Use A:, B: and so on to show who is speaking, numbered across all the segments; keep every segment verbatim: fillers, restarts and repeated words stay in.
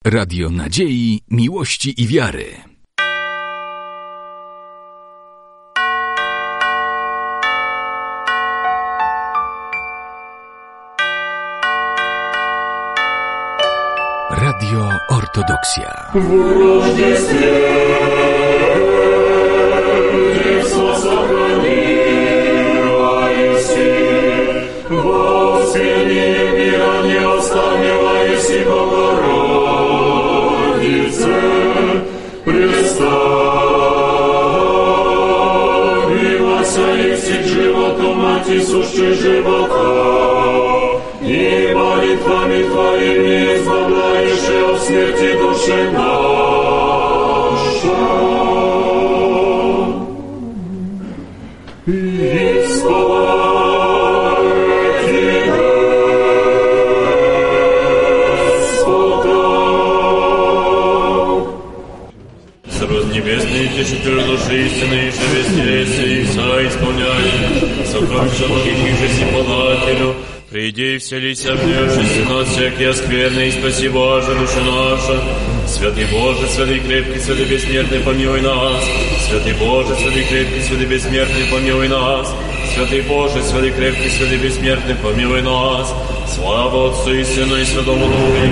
A: Radio nadziei, miłości i wiary. Radio Ortodoksja.
B: Сущий живота, и молитвами Твоими избавляешь от смерти души наша. И слава Тебе, Господа. Срод небесный, тешитель души истины, шевестейся и соисполняй. Сокровища многих же символателю, приди и вселися в нее, нас всякие скверные, и спаси Боже, душа наша. Святый Боже, святый крепкий, святый бессмертный, помилуй нас. Святый Боже, святый крепкий, святый бессмертный, помилуй нас. Святый Боже, святый крепкий, святый бессмертный, помилуй нас. Слава Отцу и Сыну и Святому Духу, и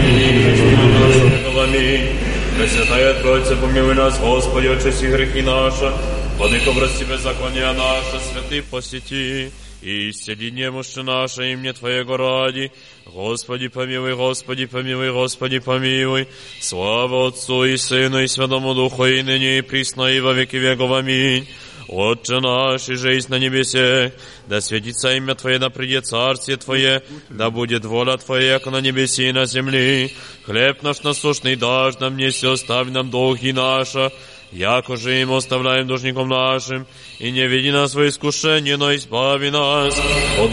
B: ныне аминь. Пресвятая Троица, помилуй нас, Господи, очисти грехи наши. Владыко, прости беззакония наше, святый посети, и исцели немощи наши, имя Твоего ради. Господи, помилуй, Господи, помилуй, Господи, помилуй. Слава Отцу и Сыну и Святому Духу, и ныне и присно, и во веки веков. Аминь. Отче наш, и жизнь на небесе, да светится имя Твое, да придет царствие Твое, да будет воля Твоя, как на небесе и на земле. Хлеб наш насущный дашь нам, неси, оставь нам долги наши, яко же им оставляем должником нашим, и не веди нас во искушение, но избави нас от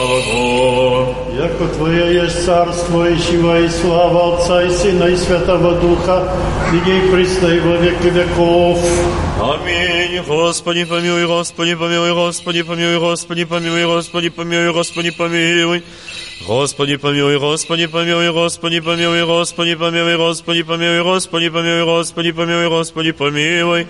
B: лукавого.
C: Яко Твое есть царство, и сила, и слава Отца и Сына и Святого Духа, ныне и присно, и во веки веков.
B: Аминь. Господи, помилуй, Господи, помилуй, Господи, помилуй, Господи, помилуй, Господи, помилуй, Господи, помилуй. Господи, помилуй, Господи, помилуй, Господи, помилуй, Господи, помилуй, Господи, помилуй, Господи, помилуй, Господи, помилуй, Господи, помилуй.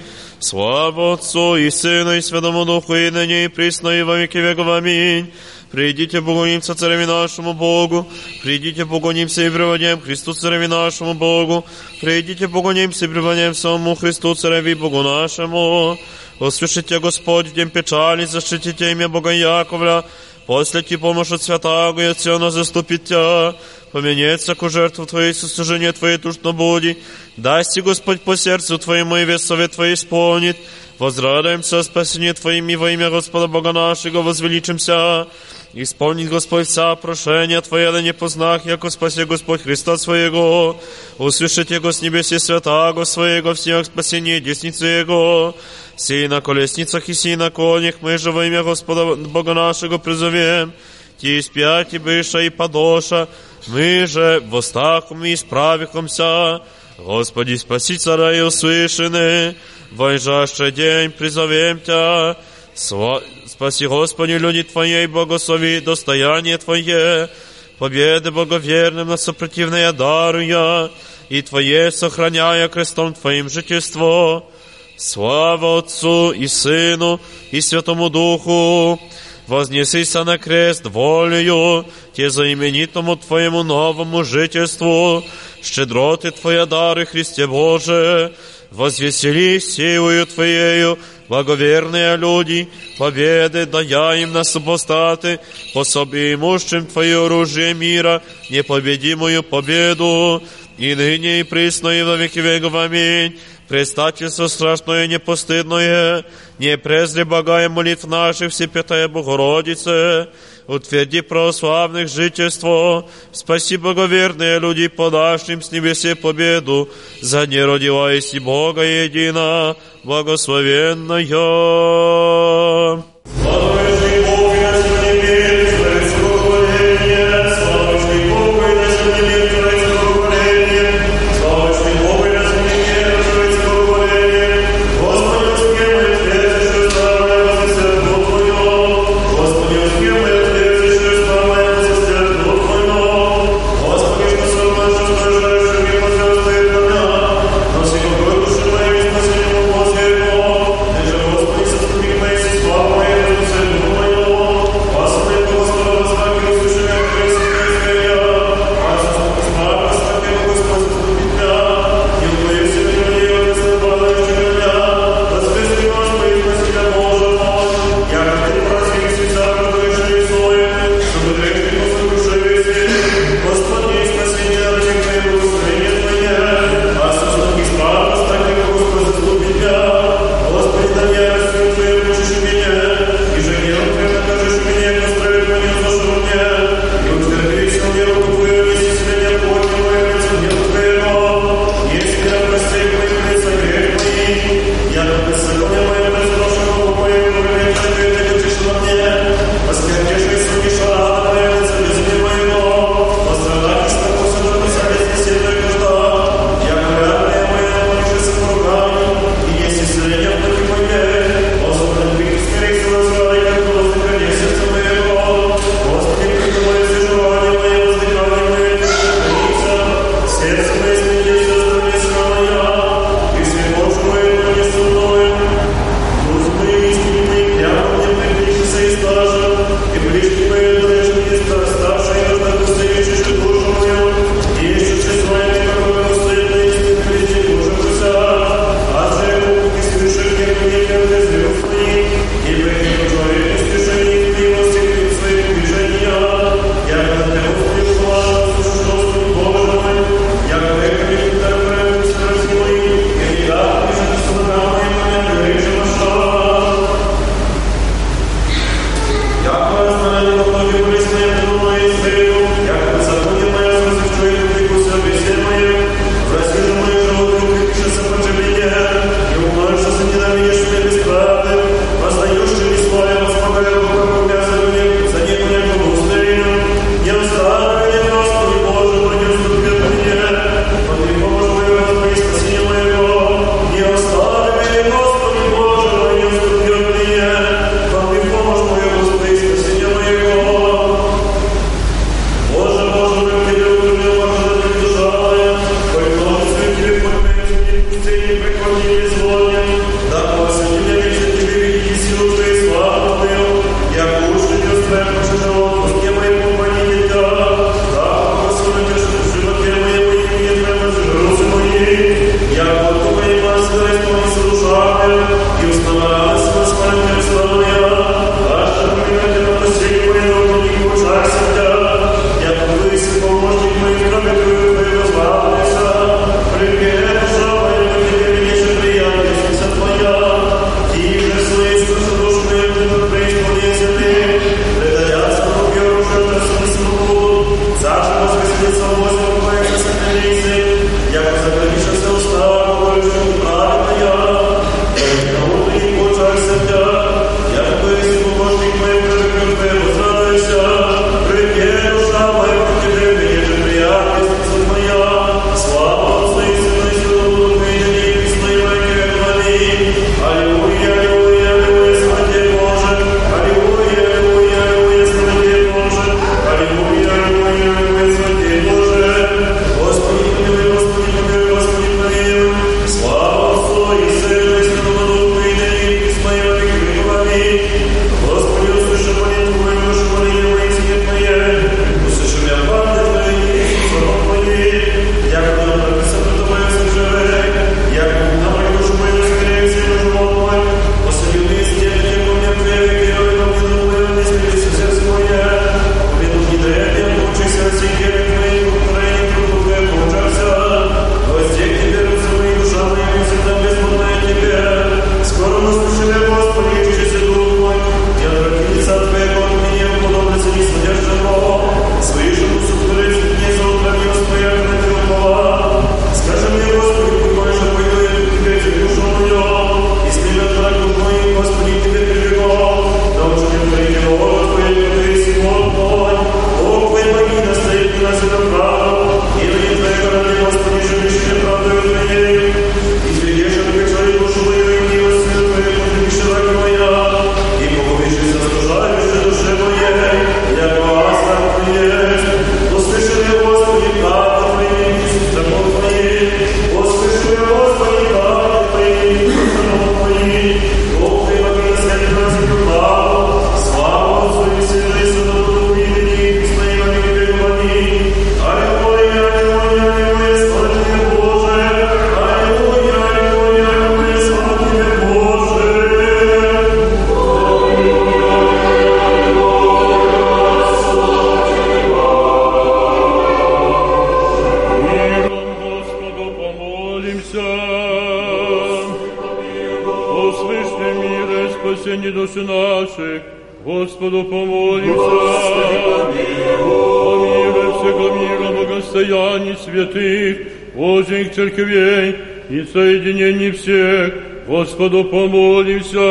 B: Слава Отцу и Сыну и Святому Духу, и ныне и присно, и во веки веков. Аминь. Придите, поклонимся цареве нашему Богу, придите, поклонимся и преводим Христу цареве нашему Богу, придите, поклонимся и преводим самому Христу цареве Богу нашему. Услышите, Господь, в день печали, защитите имя Бога Яковля, послите помощь от святаго и от Сиона заступит Тя. Поменется ку жертву Твоей, сослужение Твоей тушно буди. Дасти, Господь, по сердцу Твоему, и весь совет Твой исполнит. Возрадуемся о спасении Твоим, и во имя Господа Бога нашего возвеличимся. Исполнит Господь вся прошения Твоя, да не познах, яко спаси Господь Христа Своего. Услышите Его с небеси святаго Своего, всех спасения десницы Его. Сей на колесницах и сей на конях, мы же во имя Господа Бога нашего призовем. Ти спяти быша и подоша, мы же в устах мы исправихомся. Господи, спаси царя и услышаны, войжащий день призовем Тя. Сва... Спаси, Господи, люди Твоей, благослови достояние Твое, победы благоверным на сопротивное даруя, и Твое сохраняя крестом Твоим жительство. Слава Отцу и Сыну и Святому Духу. Вознесися на крест волею, Те заименитому Твоему новому жительству, щедроты Твоя дары, Христе Боже, возвеселись силою Твоею, благоверные люди, победы дая им на супостаты, пособи имущим Твое оружие мира, непобедимую победу, и ныне и присно и во веки веков. Аминь. Предстательство страшное и непостыдное, не презри благая молитв наших, Всепятая Богородице, утверди православных жительство, спаси благоверные люди, подашь им с небесе победу, за не родилась и Бога едина, благословенная. Господи,
D: Господу помолимся. О мире всего мира, богостоянии святых, Божьих церквей и соединении всех, Господу помолимся.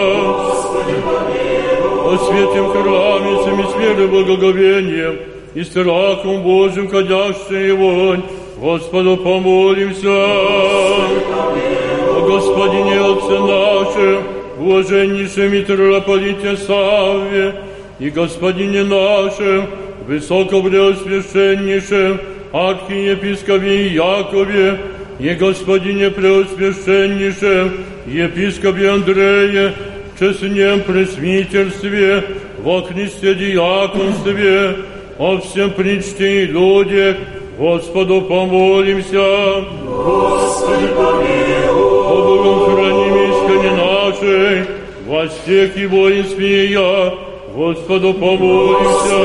D: О святем храме, всеми сферы благоговением и страхом Божьим ходящей вонь, Господу помолимся. О Господине Отце нашем, блаженнейшем митрополите Савве и Господине нашем, высокопреосвященнейшем архиепископе Якове и Господине преосвященнейшем епископе Андрее, в честном пресвитерстве, во Христе диаконстве, о всем причте и людях, Господу помолимся.
E: Господи помилуй.
D: О Богом храним исконе нашей, во всех и воинстве я, Господу помолимся.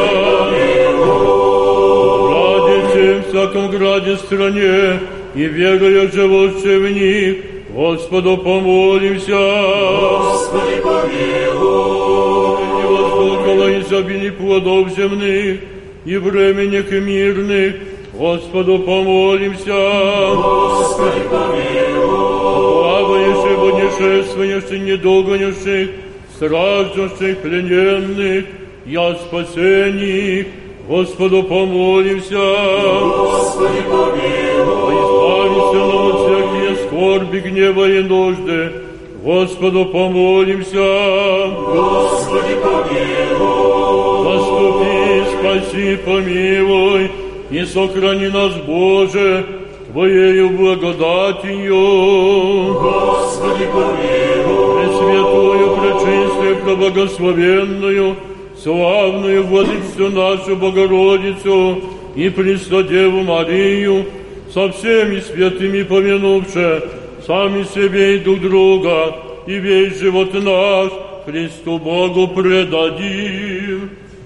D: Ради всем всяком граде стране и веруя живущей в них, Господу помолимся.
E: Господи помилуй.
D: И воздухало изобилий плодов земных и временных и мирных, Господу помолимся.
E: Господи помилуй.
D: Плавающих, путешествующих, недогонявших, страждущих, плененных, и о спасении, Господу помолимся.
E: Господи помилуй.
D: Избавься нам от всякие скорби, гнева и нужды, Господу помолимся.
E: Господи помилуй.
D: Заступи, спаси, помилуй, и сохрани нас, Боже, Твоею благодатью.
E: Господи помилуй.
D: Пресвятую, пречистую, преблагословенную, славную Владычицу нашу Богородицу и Преснодеву Марию, со всеми святыми помянувши сами себе и друг друга, и весь живот наш Христу Богу предадим.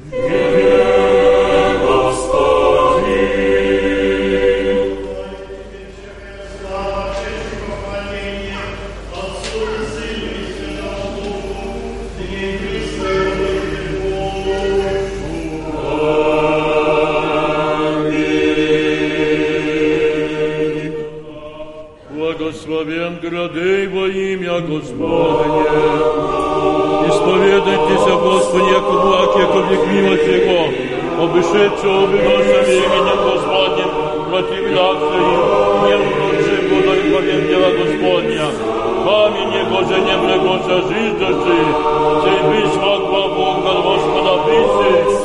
D: Благословен градей во имя Господне. Исповедайтесь, Господи, яко благ, яко век милость Его, обышедшего выносами именем Господним, противляться им, не вручи Бога и повем дела Господня. Камень Его же не прегоша жизнь души, сей бись могла Бога Господа писи.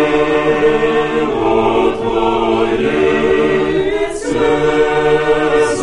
E: Yes.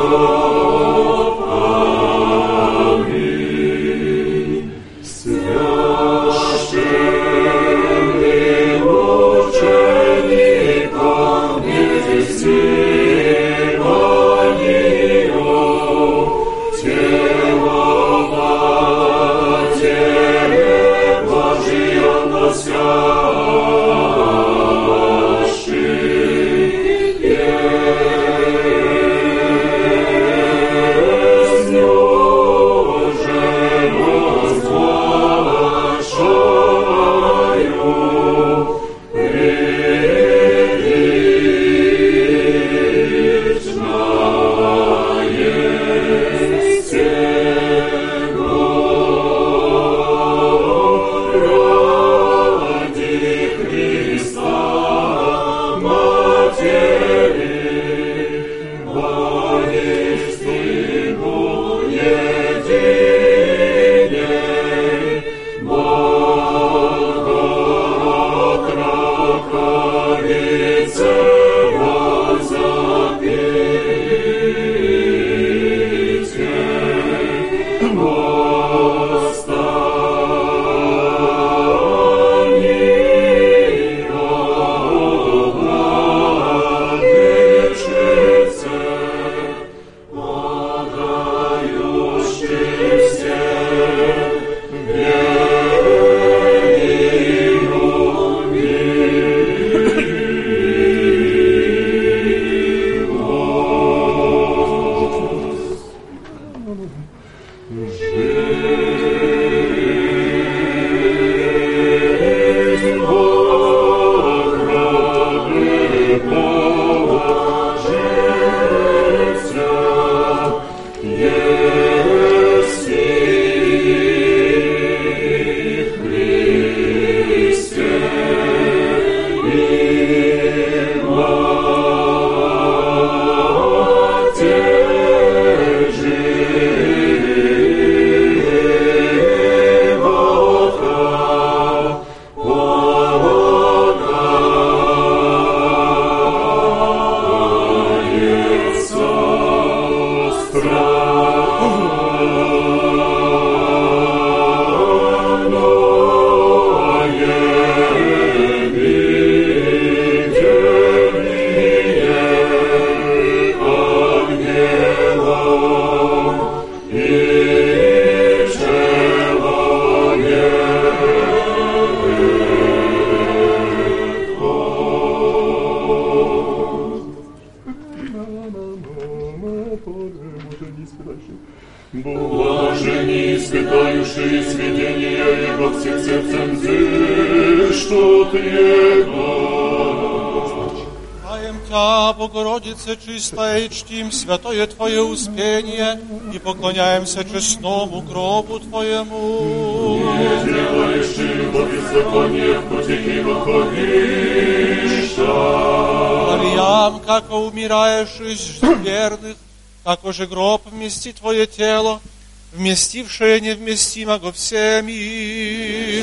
E: Блажени испытающие сведения Его всех сердцем зыштут Его.
F: Чтаем Тя, Богородице чистая, и чтим святое Твое успение, и поклоняемся честному гробу Твоему.
E: Не делаешь его беззаконие в пути греховища.
F: Мариям, как умираешь из верных, како же гроб вмести Твое тело, вместившее невместимого всеми.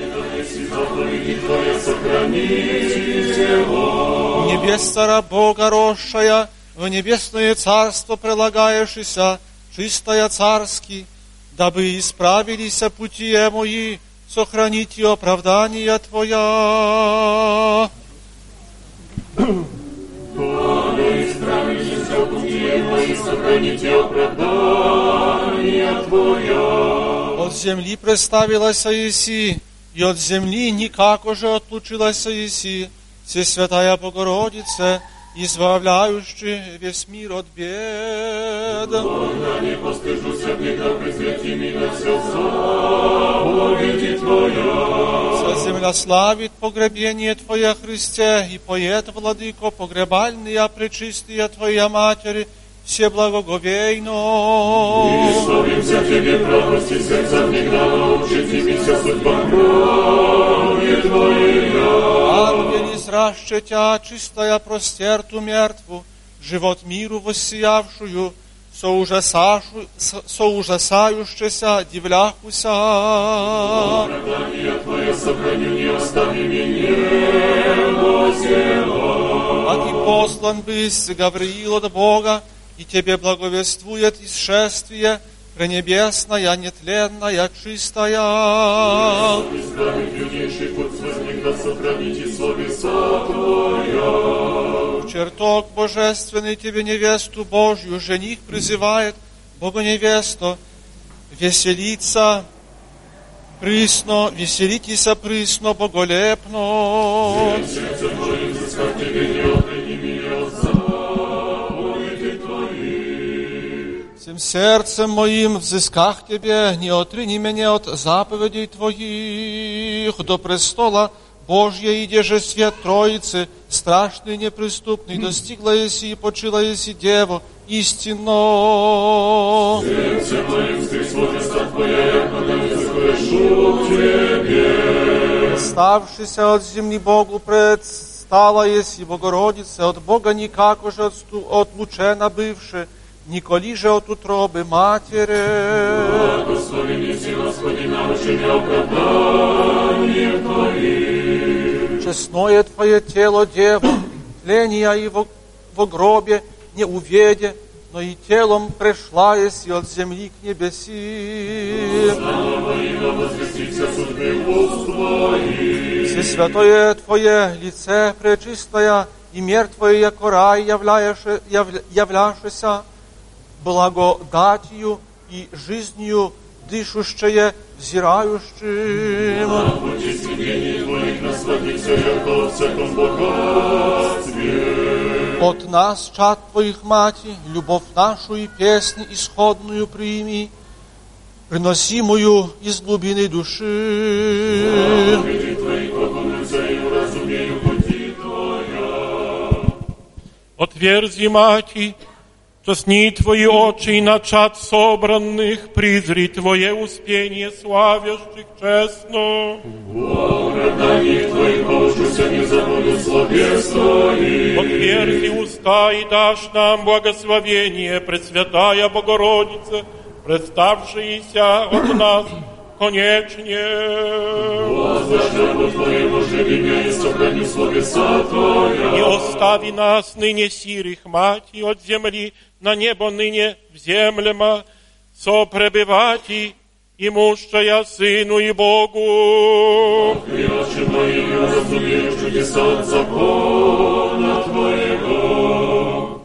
F: Небес цара Бога росшая, в небесное царство прилагаешься, чистая царски, дабы исправились пути мои, сохраните оправдания Твоя.
E: Сохраните оправдания Твоя.
F: От земли представилась Иси, и от земли никак уже отлучилась Иси, Всесвятая Богородице, избавляющий весь мир от бед.
E: Когда не постыжуся греха, презрети меня все заповеди Твоя.
F: Вся земля славит погребение Твое, Христе, и поет, Владыко, погребальные пречистые Твоя Матери, все благоговейно.
E: И славимся Тебе, правости сердца всегда, научи Тебе судьба крови Твоя.
F: Ангели зраща Тя, чистая простерту мертву, живот миру воссиявшую, соужасашу, соужасающаяся, дивляхуся.
E: Оправдание Твое сохрани, не остави меня, Боже.
F: А Ты послан бысь, Гавриил от Бога, и Тебе благовествует исшествие пренебесная, нетленная, чистая.
E: Избавить юнейший путь возник, да сохраните словеса Твоя.
F: В чертог божественный Тебе невесту Божью жених призывает, Богоневесто, веселиться присно, веселитеся присно, боголепно.
E: Сердце Твоим взыскать Тебе не отрыни меня от заповедей Твоих.
F: Всем сердцем моим взысках Тебе, не отрыни меня от заповедей Твоих. До престола Божья иде же свет Троицы, страшный, неприступный, достигла еси и почила еси Дево, истинно.
E: Сердце моим встреть возраста Твоя, я когда не заслышу к Тебе.
F: Ставшися от земли Богу предстала еси, Богородице, от Бога никако же отлучена бывши, николи же от утробы матери.
E: Благослови неси, Господи, научи меня оправдание Твоих.
F: Честное Твое тело, Дева, тления и во, во гробе не уведе, но и телом пришла еси от земли к небеси.
E: Слава имя возвестится судьбы уст Твоих.
F: Всесвятое Твое лице пречистая, и мир Твой, яко рай, являеше, явля, являшеся благодатью и жизнью дышущее, взирающим.
E: На пути сведений Твоих насладиться, яко во всяком богатстве.
F: От нас, чад Твоих, Мати, любовь нашу и песнь исходную прими, приносимую из глубины души.
E: Заповеди Твои поклонятся и уразумею пути Твоя.
D: Отверзи, Мати, честни Твои очи и на чад собранных, призри Твое успение славящих честно.
E: О оправданиях Твоих поучуся, не забуду словес Твоих.
D: Отверзи уста и дашь нам благословение, Пресвятая Богородица, представшаяся от нас конечнее.
E: Возвращаю Твоему же имя и сохраню словеса Твоя.
D: Не остави нас ныне сирых, Мати, от земли на небо ныне вземлема, сопребывати, имущая Сыну и Богу.
E: И очи мои не разумеют чудеса от закона Твоего.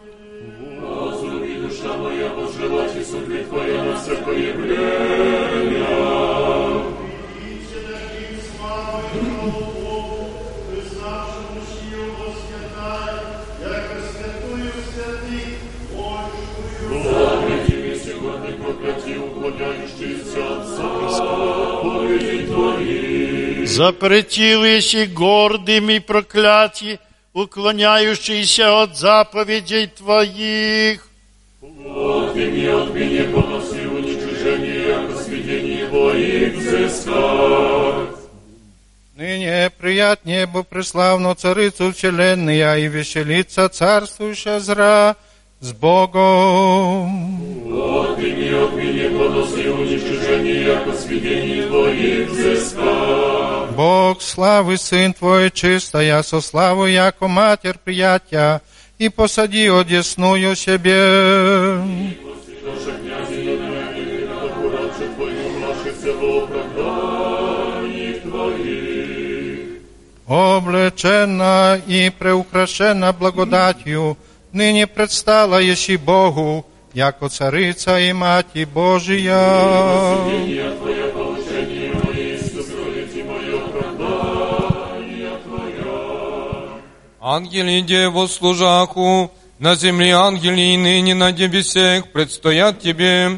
E: Возлюби, душа моя, пожелать и судьбы Твоя на всякое время. Заповеди мне сегодня проклятие, уклоняющиеся от заповедей Твоих.
C: Запретил еси гордым и проклятий, уклоняющийся от заповедей Твоих.
E: Отмени от меня поноси уничижение, яко сведений Твоих взыскать.
F: Ныне прият небу преславно царицу вселенная, и веселится царствующая зра с Богом.
E: Отмени от меня поноси уничижение, яко сведений Твоих взыскать.
F: Бог славы, Сын Твой, чистая, со славу, яко Матерь приятия, и посади одесную себе.
E: Наша князина, навеки, аккуратше Твою, нашихся во оправданиях Твоих.
F: Облечена и преукрашена благодатью, ныне предстала еси Богу, яко царица и Мати Божия.
E: Сведения Твоя, поучение мои, сокровите мое оправдание Твоя.
G: Ангели Дево служаху, на земле ангели и ныне на небесех предстоят Тебе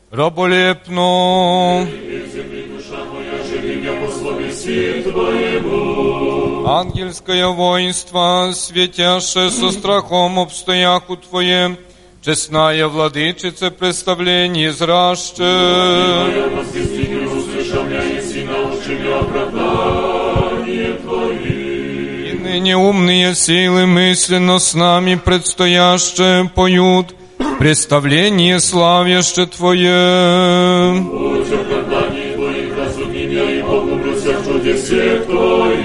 G: раболепно.
E: И в земле душа моя, живи меня по словеси Твоему.
G: Ангельское воинство, светяше со страхом обстояху Твоем, честная владычица представление зраще.
E: Я возвести не услышал меня, и научи меня оправдание Твоих.
G: И ныне умные силы мысленно с нами предстояще поют представление славяще Твое.
E: Будь оправданий Твоих, разуми меня, и погублюся в чудесе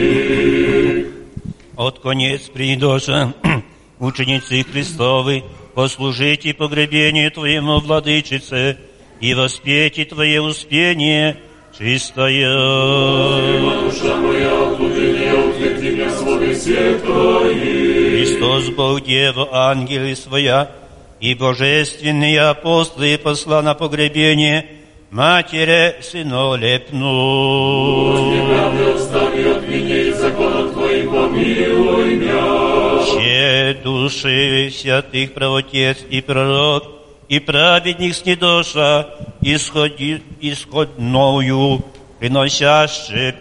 E: Твоих.
H: От конец придоша, ученицы Христовы, послужите погребению Твоему, Владычице, и воспейте Твое успение чистое.
E: Душа моя, отлудение, утверди меня в слове свет Твои.
H: Христос, Бог, Дева, ангелы своя, и божественные апостолы посла на погребение Матери сынолепну.
E: Господи, правда, встань от меня, и законом Твоим помилуй меня.
H: Все души святых правотец и пророк, и праведник с недоша, исходи, исходною, приносяще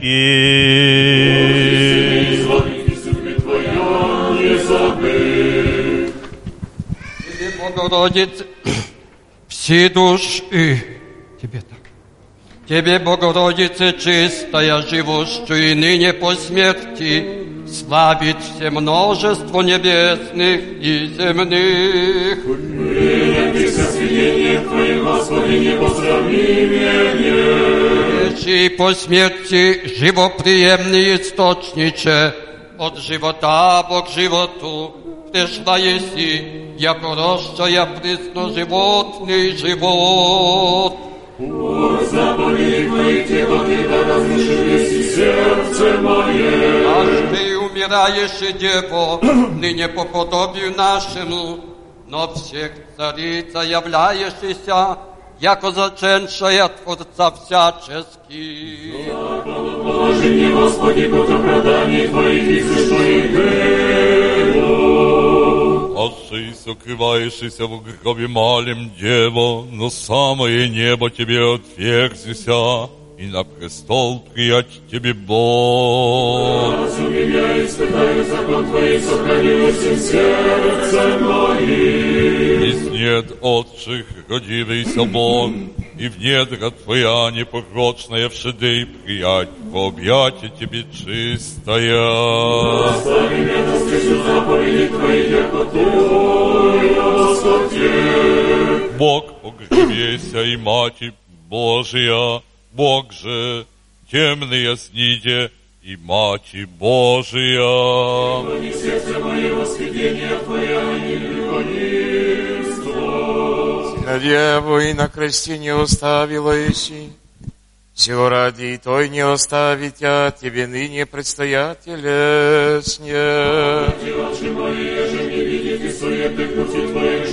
H: пи.
E: Изволите судьбы Твоя, не забыть.
G: Тебе, Богородице, все души, Тебе так. Тебе, Богородице, чистая, живущая и ныне по смерти, славит все множество небесных и земных.
E: Принятися свидетелем Твоим, Господи, непосравнимее.
G: Речи по смерти живоприемный источниче, от живота Бог животу, пришла еси, яко рощая присно животный живот.
E: От заповедей Твоих тело Тебя разрушились и сердце мое.
G: Аж Ты умираешь, Дево, ныне по подобию нашему, но всех царица являешься, яко заченшая Творца всячески.
E: Положи мне, Господи, под оправданий Твоих и сущих
D: Отцы, сокрываешься в гробе малем, Дево, но самое небо Тебе отверзися, и на престол приять Тебе Бог.
E: Разум меня испытаю закон Твой, сохранилось в сердце моим.
D: Из нет отчих родивейся Бог, и в недра Твоя непорочная вшеды приять во объятие Тебе чистая.
E: Остави меня на встречу заповеди Твоих, яко Твоя Господи.
D: Бог погребеся и Мати Божия, Бог же темные сниде и Мати Божия.
E: Храни сердце мое восхваление Твоя и любовство.
I: На Деву и на кресте не оставила еси, сего ради и той не оставить, а Тебе ныне предстоятеле сне.
E: Очи мои, еже не видите суетных пути Твоих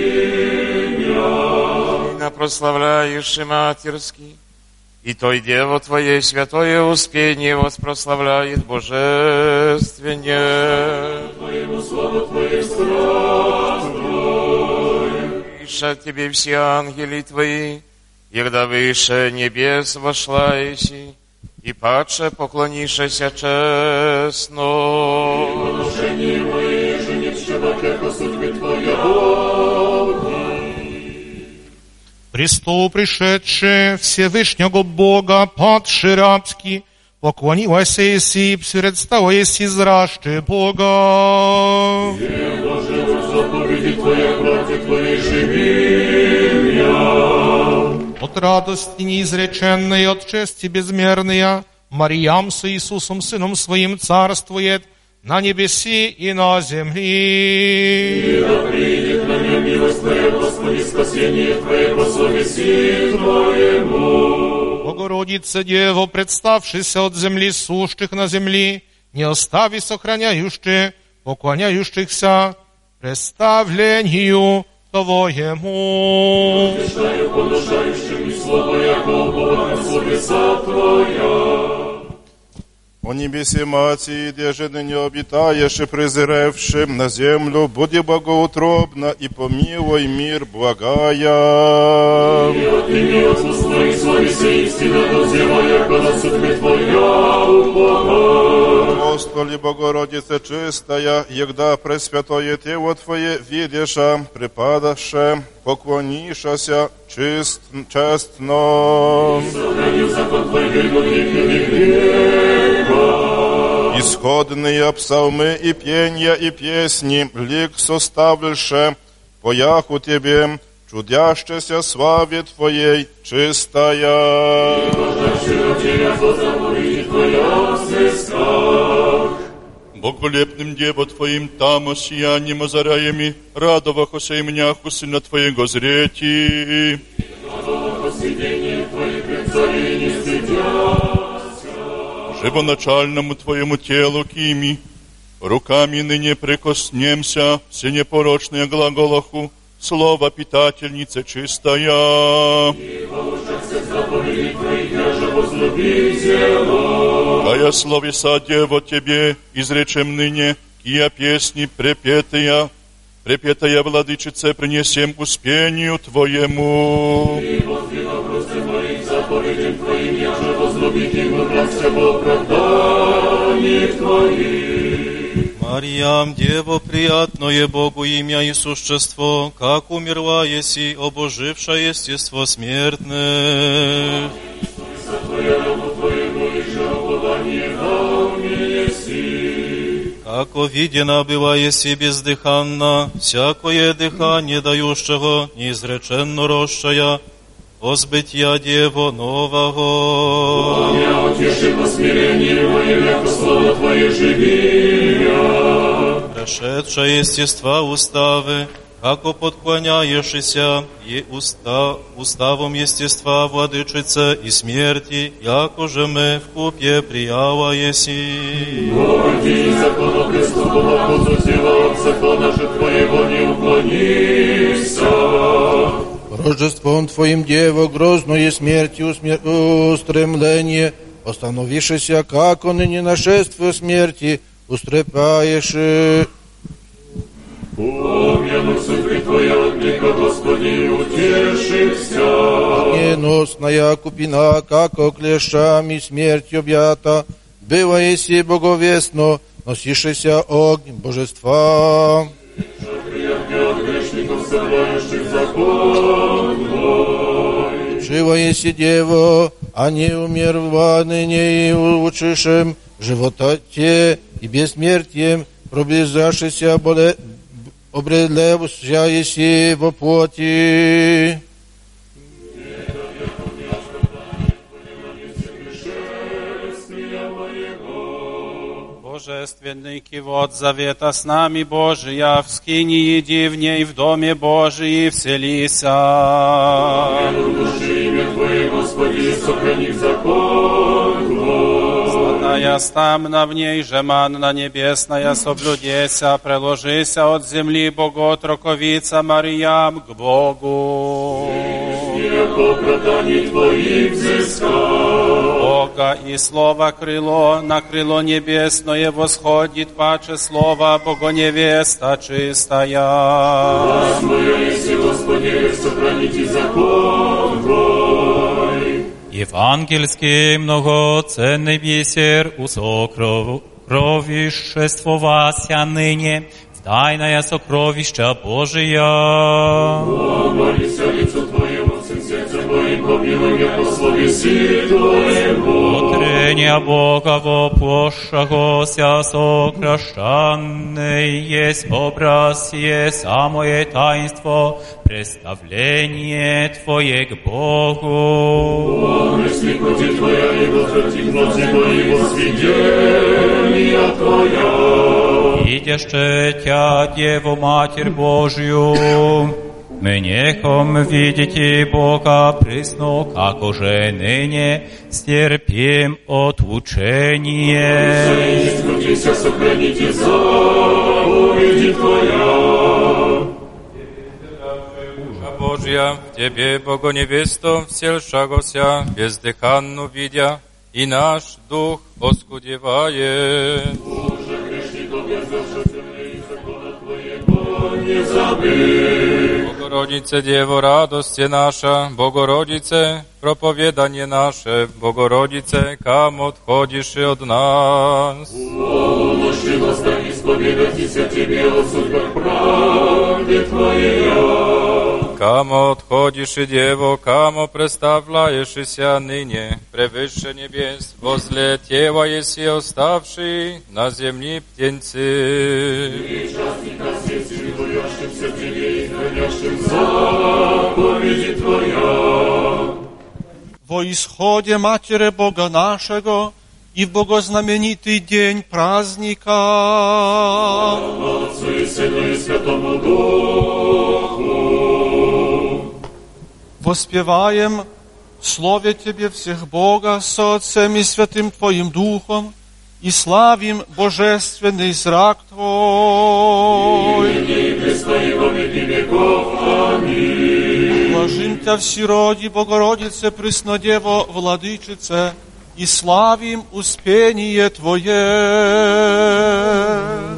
E: живения.
I: И на прославляющий матерский, и той Дево Твоей святое успение воспрославляет божественне.
E: Твоему славу Твоей страстной.
I: Иша Тебе все ангели Твои, егда выше небес вошла еси, и падше поклонишься честно.
E: Подношение мои, еже не вщебак, яко судьбы Твоя.
F: Престол пришедший Всевышнего Бога, падший рабский, поклонилась еси, предстала еси зрашти Бога.
E: Не Боже, заповеди Твоя, братья Твои, живи я.
F: От радости неизреченной, от чести безмерной, Мариям с Иисусом, Сыном Своим, царствует на небеси и на земли.
E: И да придет на меня милость Твоя, Господи, спасение Твое по совести Твоему.
F: Богородица Дево, представшися от земли сущих на земли, не остави сохраняющих, поклоняющихся представлению Твоему.
E: Отвечаю поношающим и слово Якова на словеса Твоя.
J: О небесе Мати, где же ныне обитаешь и презревшим на землю, буди богоутробна и помилуй мир благая.
E: И отними от уст Твоих словеси истина, дозевая, когда судьбы Твоя уповай.
J: Апостоли Богородице чистая, егда пресвятое тело Твое видеша, припадаше, поклонишася чист, честно.
E: Сохранил закон Твой, вернутых и греха.
J: Исходные псалмы и пенья и песни, лик составлюше, пояху Тебе, чудящеся славе Твоей чистая.
D: Боголепным Дево Твоим тамо сиянием озаряеми, радовахося и мняху Сына Твоего зрети. Живоначальному Твоему телу кими, руками ныне прикоснемся, все непорочные глаголаху, слово питательница чистая. Кая словеса, Дево, Тебе изречем ныне, кия песни препетая, препетая, Владычице, принесем успению Твоему.
F: Мариям, Дево, приятное Богу имя и существо, как умерла еси, обоживша естество смертное. Како видена была еси бездыханна, всякое дыхание дающего, неизреченно росшая, возбытия Дево нового.
E: Я утеши по смирению моим, яко слово Твое живи я.
F: Прошедшая естества уставы, како подклоняешься и уста, уставом естества владычица и смерти, яко же мы в купе прияла еси.
E: Господи, закону преступного пузу тела от закона же Твоего не уклонися.
K: Рождеством Твоим, Дево, грозную смертью устремление, остановившися, как он и не нашествие смерти, устрепаешь.
E: Помянуся пред Твоя отлика, Господи, утешися.
K: Огненосная купина, как клещами смерть объята, было еси боговестно, носишься огнем божества. Живо еси, Дево, а не умерла ныне и улучшишем живототе и бессмертием, приближавшийся боле обредлевся еси во плоти.
L: Божественный кивот завета с нами Божия, в скинии дивней в доме Божии вселися.
E: Души имя Твое, Господи, сохрани закон Твой.
L: Златная стамна в ней же манна небесная соблюдеся, приложися от земли боготроковица Мариям к Богу.
E: Яко оправданий Твоих взыскал.
L: Бога и Слово крыло, на крыло небесное восходит, паче Слово Богоневеста чистая.
E: Власть моя есть, Господи, сохраните закон Твой.
M: Евангельский многоценный бисер усокровиществовася ныне в тайное сокровища Божия.
E: Помолися лицу Твоему, всем сердцем Твоим, помилуй меня по словеси Твоему.
M: Утрения Бога воплощагося сокращанный есть образ, есть самое таинство, представление Твое к Богу.
E: Помысли пути Твоя, и возврати глаза Твои во свидетелья Твоя.
M: Идеще Тя, Деву Матерь Божью, мы нехом видите Бога присно, как уже ныне стерпим отлучение.
E: Скрутися, сохраните заповеди Твоя.
G: Божья, в Тебе, Богоневесто, вселшагося, бездыханну видя, и наш дух оскудевает.
E: Боже, грешников я завши земли и закона Твоего не забыть.
G: Богородице, Дево, радости наша, Богородице, проповедание наше, Богородице, кам отходишь от нас.
E: О, ночи восстань, исповедайтеся Тебе о судьбах правде Твоей.
G: Камо отходишь, Дево, камо представляешься ныне, превыше небес, возле Тева еси оставший на земли птенцы.
E: И частника сердце боящимся Тебе и хранящим заповеди Твоя.
F: Во исходе Матери Бога нашего и в богознаменитый день праздника.
E: Отцу и Сыну и Святому Духу.
F: Воспеваем Слове Тебе всех Бога со Отцем и Святым Твоим Духом, и славим божественный зрак Твой. Блажим Тя всероди, Богородице, Преснодево, Владычице, и славим успение Твое.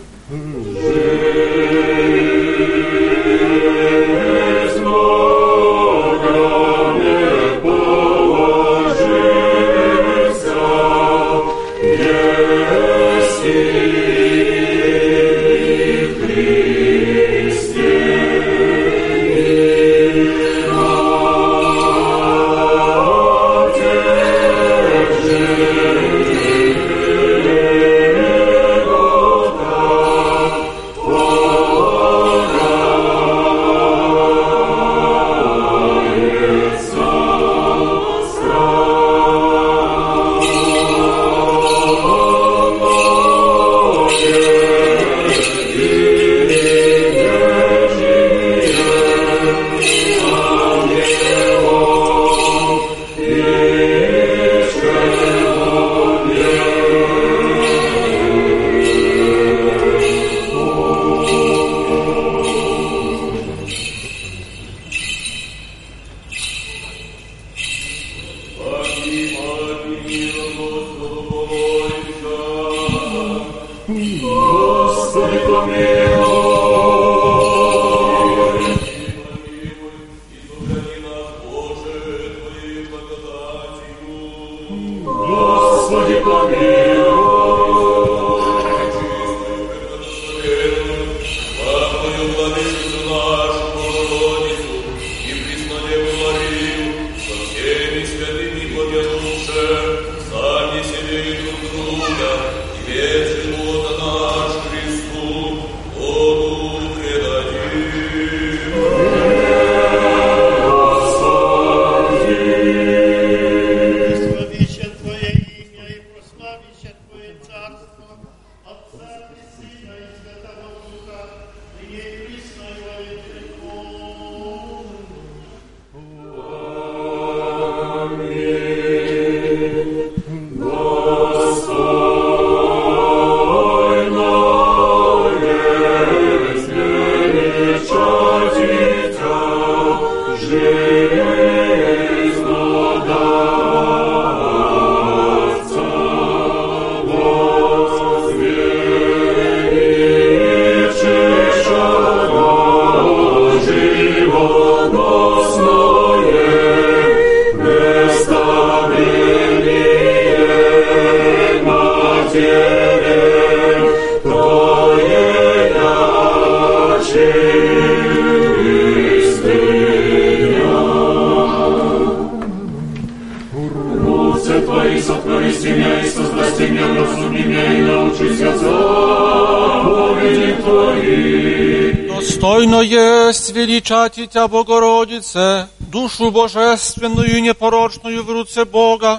F: Достойно есть величать Тя, Богородице, душу божественную и непорочную в руце Бога,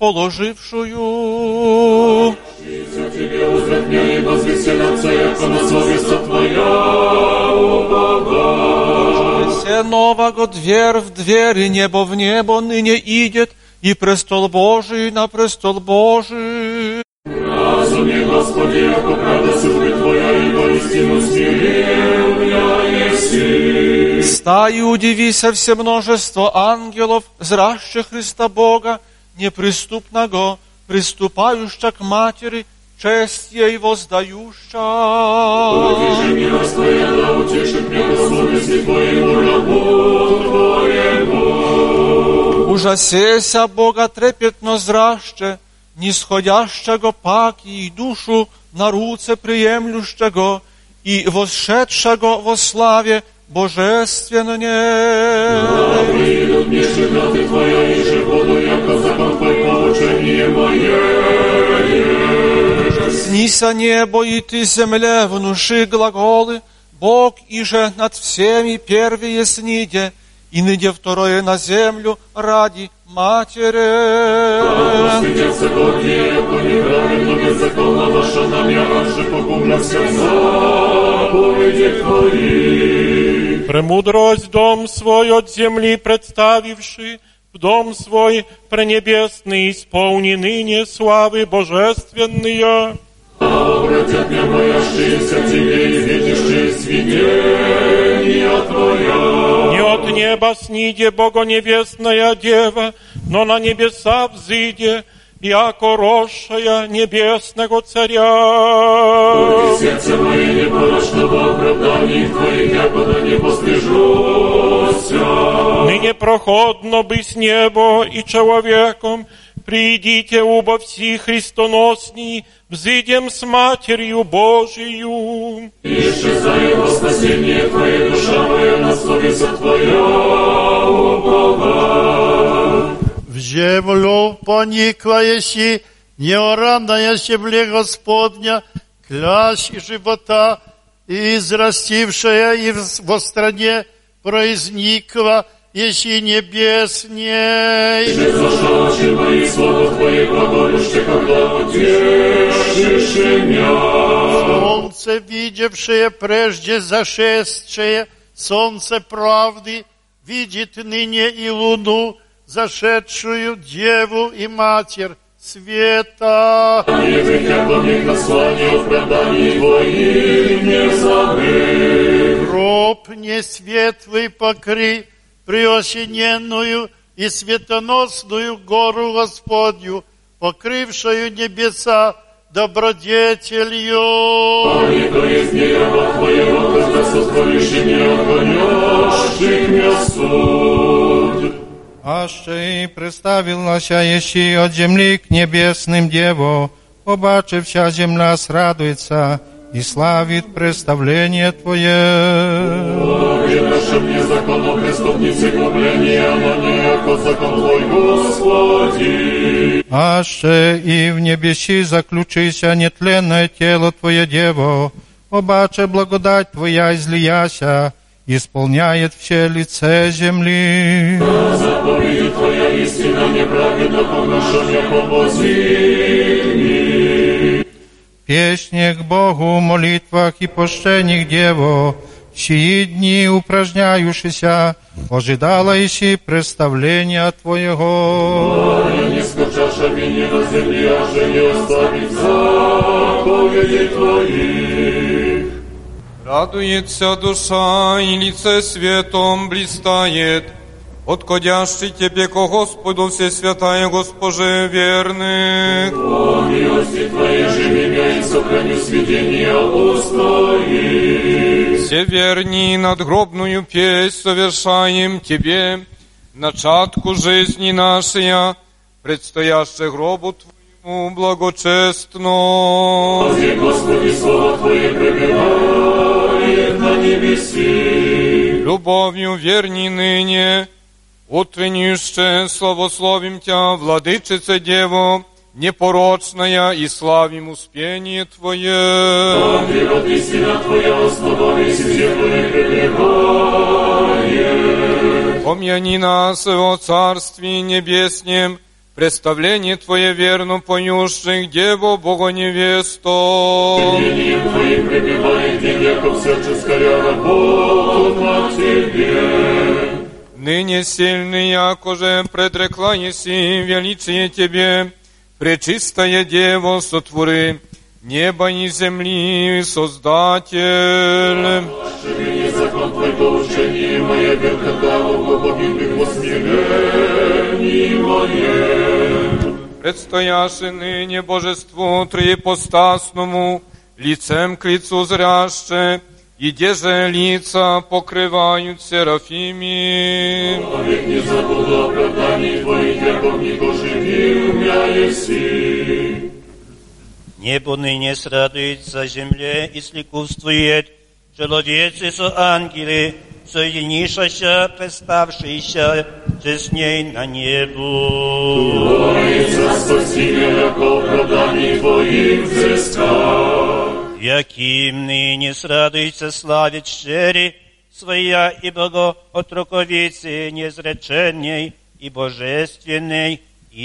F: положившую.
E: Тебе узрят меня и возвеселятся, яко на совесть Твоя, о Бога.
F: Все нового дверь в дверь, и небо в небо ныне идет, и престол Божий на престол Божий.
E: Разуми, Господи, яко правда судьбы Твоя, и воистину смирил я еси.
F: Стай и удивися все множество ангелов, зрящих Христа Бога, неприступного, приступающих к матери, честь ей воздающа.
E: Удержи милость Твоя, да утешит меня по совести Твоему рабу Твоему.
F: Ужасеся Бога трепетно зраще, нисходящего паки и душу на руце приемлющего и восшедшего во славе божественной.
E: Да придут мне шагаты Твоя, и же буду, яко закон Твой поучение мое.
F: Снися небо, и ты земле внуши глаголы, Бог иже над всеми первые сниде, И ныне второе на землю ради матери.
E: Стыдятся гордые, яко неправедно беззаконно ваша намя, раньше погубляся в заповеди Твои.
N: Премудрость дом свой от земли представивши, в дом свой пренебесный исполни ныне славы божественные.
E: А обратят меня боящиеся Тебе и видящие свидетения Твоя.
N: Не от неба сниде богоневестная дева, но на небеса взыде, яко росшая небесного царя.
E: Пусть сердце мое непорочно во оправдании Твоих, якуда не постыжуся.
N: Ныне проходно быть небо и человеком, придите убо все христоносни, взыдем с Матерью Божию.
E: И исчезает во спасение Твое, душа моя, на совесть Твоя упова.
C: В землю поникла еси, неоранная земле Господня, клящ и живота, и израстившая и во стране произникла, еси небесней.
E: Ты зашел очи мои, слова Твои глаголюще, когда утешишь меня.
C: Солнце, видевшее прежде зашедшее, солнце правды, видит ныне и луну, зашедшую Деву и Матерь света.
E: Не грехя помех наслания в оправдании Твоих не забыть.
C: Гроб несветлый покры, преосененную и светоносную гору Господню, покрывшую небеса добродетелью.
E: А не то есть не раба Твоего, когда сотворишь не отгонешь меня суд.
K: Аще и представилася еси от земли к небесным Деву, побачився земля срадуется и славит представление Твое.
E: Боги наши мне законом преступницы губления, но не яко закон Твой, Господи.
K: Аще и в небеси заключися нетленное тело Твое, Дево, побаче благодать Твоя излияся, исполняет все лице земли.
E: Заповеди Твоя истина неправедна, помножая помози.
K: Песни к Богу, молитвах и пощениях Дево, сии дни упражняющийся, ожидала иси представления Твоего.
E: Я не скучаша вине на земле, а же не оставить заповеди Твои.
G: Радуется душа, и лице светом блистает, отходящий Тебе ко Господу Всесвятая Госпоже верных.
E: О милости Твоей живи меня и сохраню сведения устои.
G: Все верни надгробную песнь совершаем Тебе, начатку жизни нашей, предстоящей гробу Твоему благочестно.
E: Возьми, Господи, слово Твое пребывает на небеси.
G: Любовью верни ныне, утреннище славословим Тя, Владычице Дево, непорочная, и славим успение Твое.
E: Ангел от истина Твоя, основались и землю пребывает.
G: Помяни нас о Царстве Небеснем, представление Твое верно поющих Деву Богоневесту.
E: Именем Твоим пребывает день, яко всяческая работа на Тебе.
G: Ныне сильный, якоже предрекла еси величие Тебе, пречистая Дево, сотвори неба и земли, Создатель.
E: Ошибини закон Твой по учению мое, бел когда у погибных во смирении моем.
G: Предстояши ныне Божеству триипостасному, лицем к лицу зряще, и деже лица покрывают серафими.
E: Век не забуду оправданий Твоих, яко нико живи умя еси.
H: Небо ныне срадуется земле и сликувствует, человецы со ангелы, соединившися, представшися с ней на небу.
E: Творится спасение, яко оправданий Твоих взыскал.
H: Яким ныне срадуется, славит щери, своя и Богоотроковицы незреченней и божественной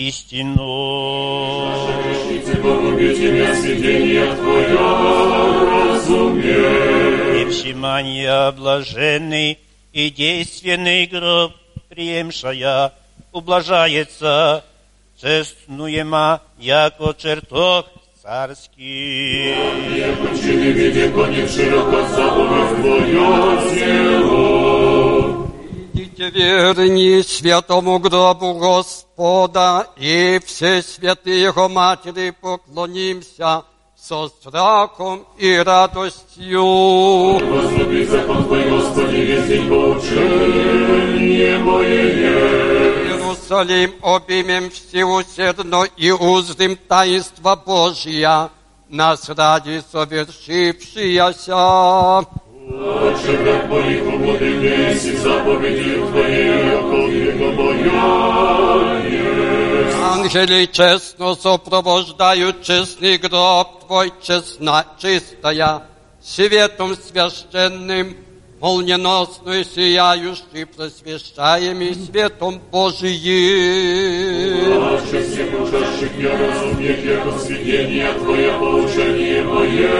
H: истину.
E: Наша грешница, погуби тебя, сведения Твоя, разумей.
H: И вшимания блаженный и действенный гроб, приемшая, ублажается, честнуема, яко чертог царский.
E: Яко чины виде конец широко заповедь Твоя зело.
O: Идите верни святому гробу Господа, и все святые Его Матери поклонимся со страхом и радостью.
E: Возлюби закон Твой, Господи, весь день поучение мое.
O: Иерусалим обнимем всеусердно и узрим таинство Божия, нас ради совершившияся.
E: Отче, враг моих угоден весь, и заповеди Твоей, яко века моя есть.
O: Ангели честно сопровождают честный гроб Твой, честна, чистая, светом священным, молниеносно сияющий, просвещаемый светом Божиим.
E: Отче, всех учащих я разумех, яко сведения Твоя поучение мое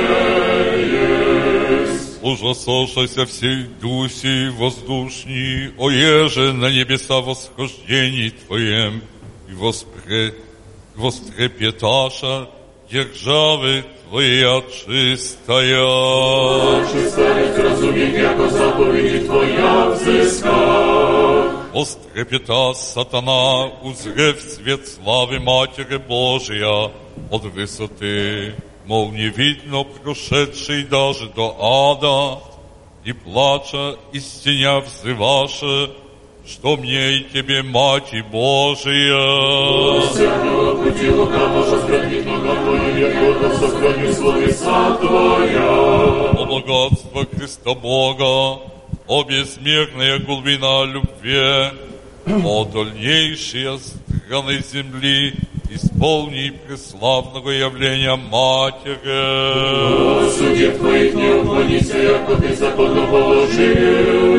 E: есть.
P: Ужасошайся всей дуси воздушни, о еже на небеса восхождений Твоем, и воспре... вострепеташа державы Твоя чистая.
E: Отче, старец разумех, яко заповеди Твоя взыскал.
P: Вострепета сатана, узрев свет славы Матери Божия от высоты, мол, не видно прошедший даже до ада, и плача, и стеня взываша, что мне и тебе, Мати Божия.
E: Всякого пути лукаво сохранит нога Твоя, я гордо сохраню словеса Твоя.
P: О богатство Христа Бога, о бессмертная глубина любви, о дальнейшие страны земли, исполни преславного явления Матери.
E: О судеб Твоих не уклонися, яко Ты законно положил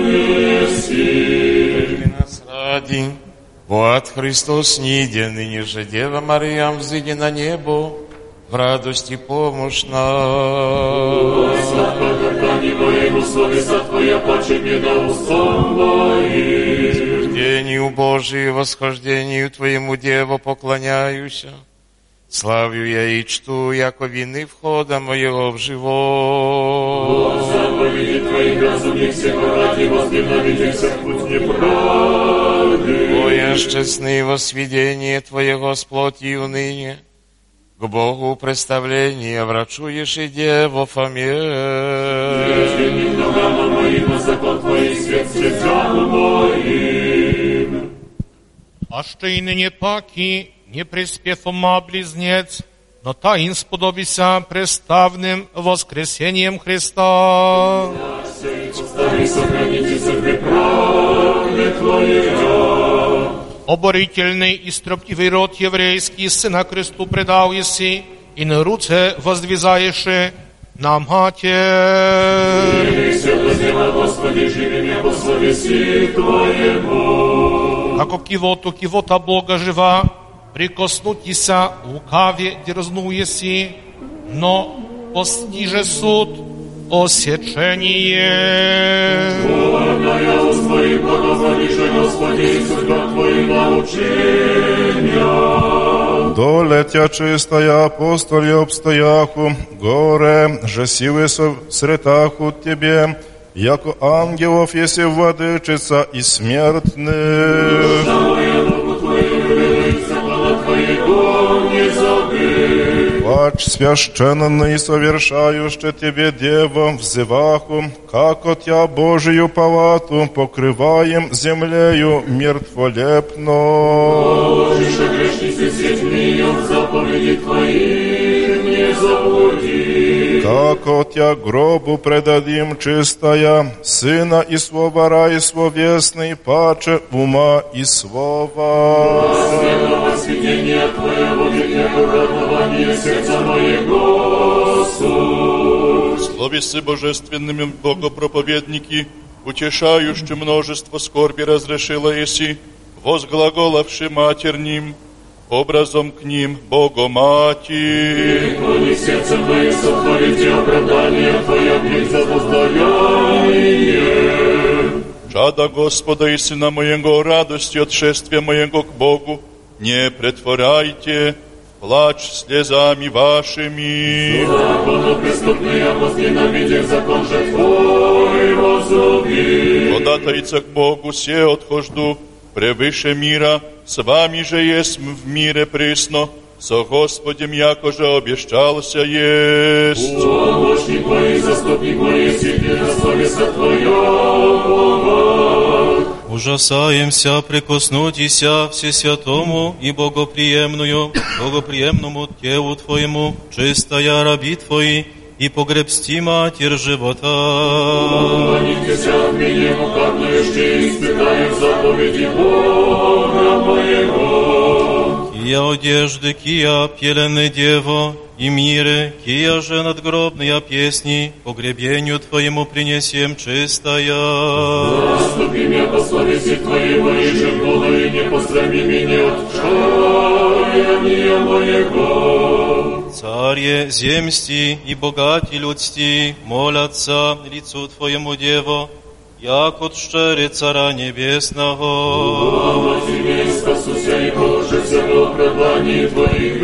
E: еси.
I: Нас ради, бо от Христос ниде, ныне же Дева Мария взыди на небо, в радости помощь нам.
E: Сладко гортани моему словеса Твоя, паче беда устом моим.
I: Утверждению Божию, восхождению Твоему, Деву, поклоняюсь. Славлю я и чту, яко вины входа моего в живот.
E: О заповеди Твоих разумных всего ради, возненавидимся в путь неправды.
I: О, еще сны во сведение Твоего с плотью ныне, к Богу представление врачуешь и Деву Фоме.
E: Прежде ногам моим, а закон Твой свет сердцам моим.
N: А ще й нині паки, не приспев ума близнец, но таин сподобися преставным воскресением Христа.
E: Постави, сохраните церкви правды Твоя.
N: Оборительный и строптивый род еврейский сына кресту предал еси, и на руце воздвизаешь на Матерь.
E: И свято сделай, Господи, живи меня по совести Твоему.
N: Како кивоту кивота Бога жива, прикоснутися лукаве дерзнуеси, но постиже суд осечение.
E: Горная уст Твоих благоволише, Господи, и судьба Твоих научения.
J: Долетя чистая апостолі обстояху, горе, же силы сретаху Тебе, яко ангелов, если владычица и смертных.
E: Душа моя, Богу Твою, любится, хвала Твоего не забыть.
J: Плач священный совершающий Тебе, Дева, взываху, как от Тя Божию палату покрываем землею мертволепно.
E: Положишь грешницы сеть мне, в заповеди Твоих не заблуди.
J: Как от Тя гробу предадим чистая, Сына и Слова и словесный, паче ума и слова.
E: Святого сведения Твоего века радования сердца моего суд.
P: Словесы божественными богопроповедники,
J: утешающий множество скорби разрешила еси, возглаголавши матерним, образом к ним Богоматерь.
E: Преклони сердце мое, сотворите оправдание Твое, близ за воздаяние.
J: Чада Господа и Сына моего, радостью от шествия моего к Богу, не претворяйте плач слезами вашими.
E: Законопреступные возненавидев, закон же Твой возлюби.
J: Податайца к Богу се отхожду, превыше мира, с вами же есть в мире присно, со Господем якоже обещался есть.
E: Помощник мой, заступник мой, если ты на совесть Твоя,
K: Ужасаемся прикоснутися всесвятому и богоприемную, богоприемному телу Твоему, чистая раби Твои, и погребсти Матерь живота.
E: Помолитесь от меня, указывающие, испытаю заповеди Бога моего.
K: Кия одежды, кия пелены дево, и мире, кия же надгробные песни, погребению Твоему принесем чистая.
E: Заступи меня по совести Твоей, моей же буду, и не посрами меня от чаяния моего.
K: Царье земсти и богати людсти, молятся лицу Твоему Дево, як от щери Цара Небесного.
E: Слава Тебе, спасуся и положися в оправдании Твоих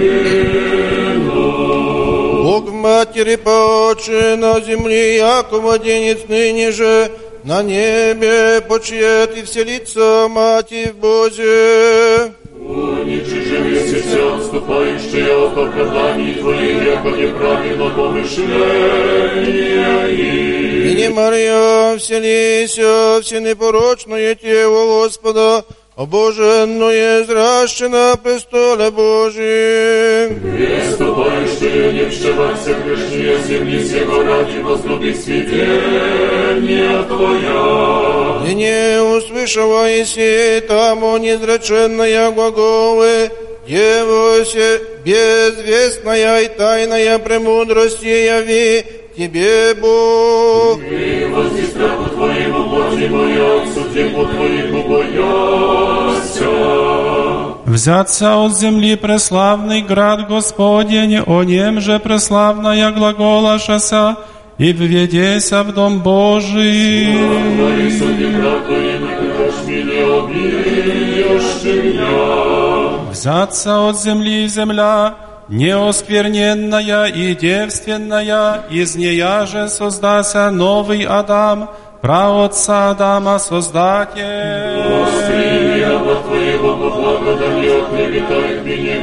E: вину.
Q: Бог в матери поочи на земле, яко младенец ныне же, на небе почиет и вселится Матерь в Бозе.
E: Уничижи весися, отступающие от оправданий Твоих, яко неправильно помышления их.
Q: И не Мария, вселися, все непорочное тело Господа, обоженное, зраще на престоле Божьем.
E: Приступающие, не вшивайся грешнее земли сего ради возлюбить свидетельния Твоя.
Q: И не услышала еси тому незреченная глаголы, Девося безвестная и тайная премудрости яви Тебе, Бог.
E: И возди страху Твоему, Божьему, моя, к судьбу Твоему бояся.
L: Взяться от земли преславный град Господень, о нем же преславная глаголашася, и введеся в дом Божий.
E: Твои судьи град Твоему, как шмели обидешь меня.
L: Взяться от земли земля, неоскверненная и девственная, из нея же создася новый Адам, праотца Адама Создатель.
E: Господи, раба Твоего, по благодати оклеветает меня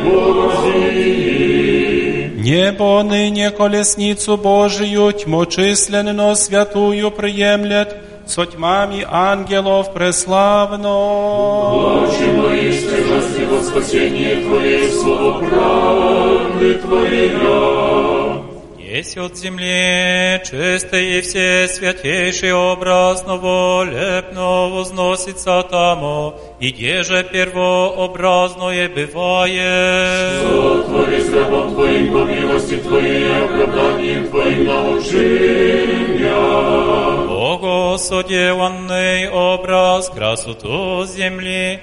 E: Божий.
L: Небо ныне колесницу Божию, тьмочисленно святую приемлет, со тьмами ангелов преславно.
E: Очи мои стяжасти во спасение Твое, слово правды Твоя.
M: Есть от земли чистый и все святейший образ новолепно возносится тому, и где же первообразное бывает.
E: Сотвори с рабом Твоим по милости Твоей и оправданием Твоим научи меня.
M: Богосоделанный образ красоту земли,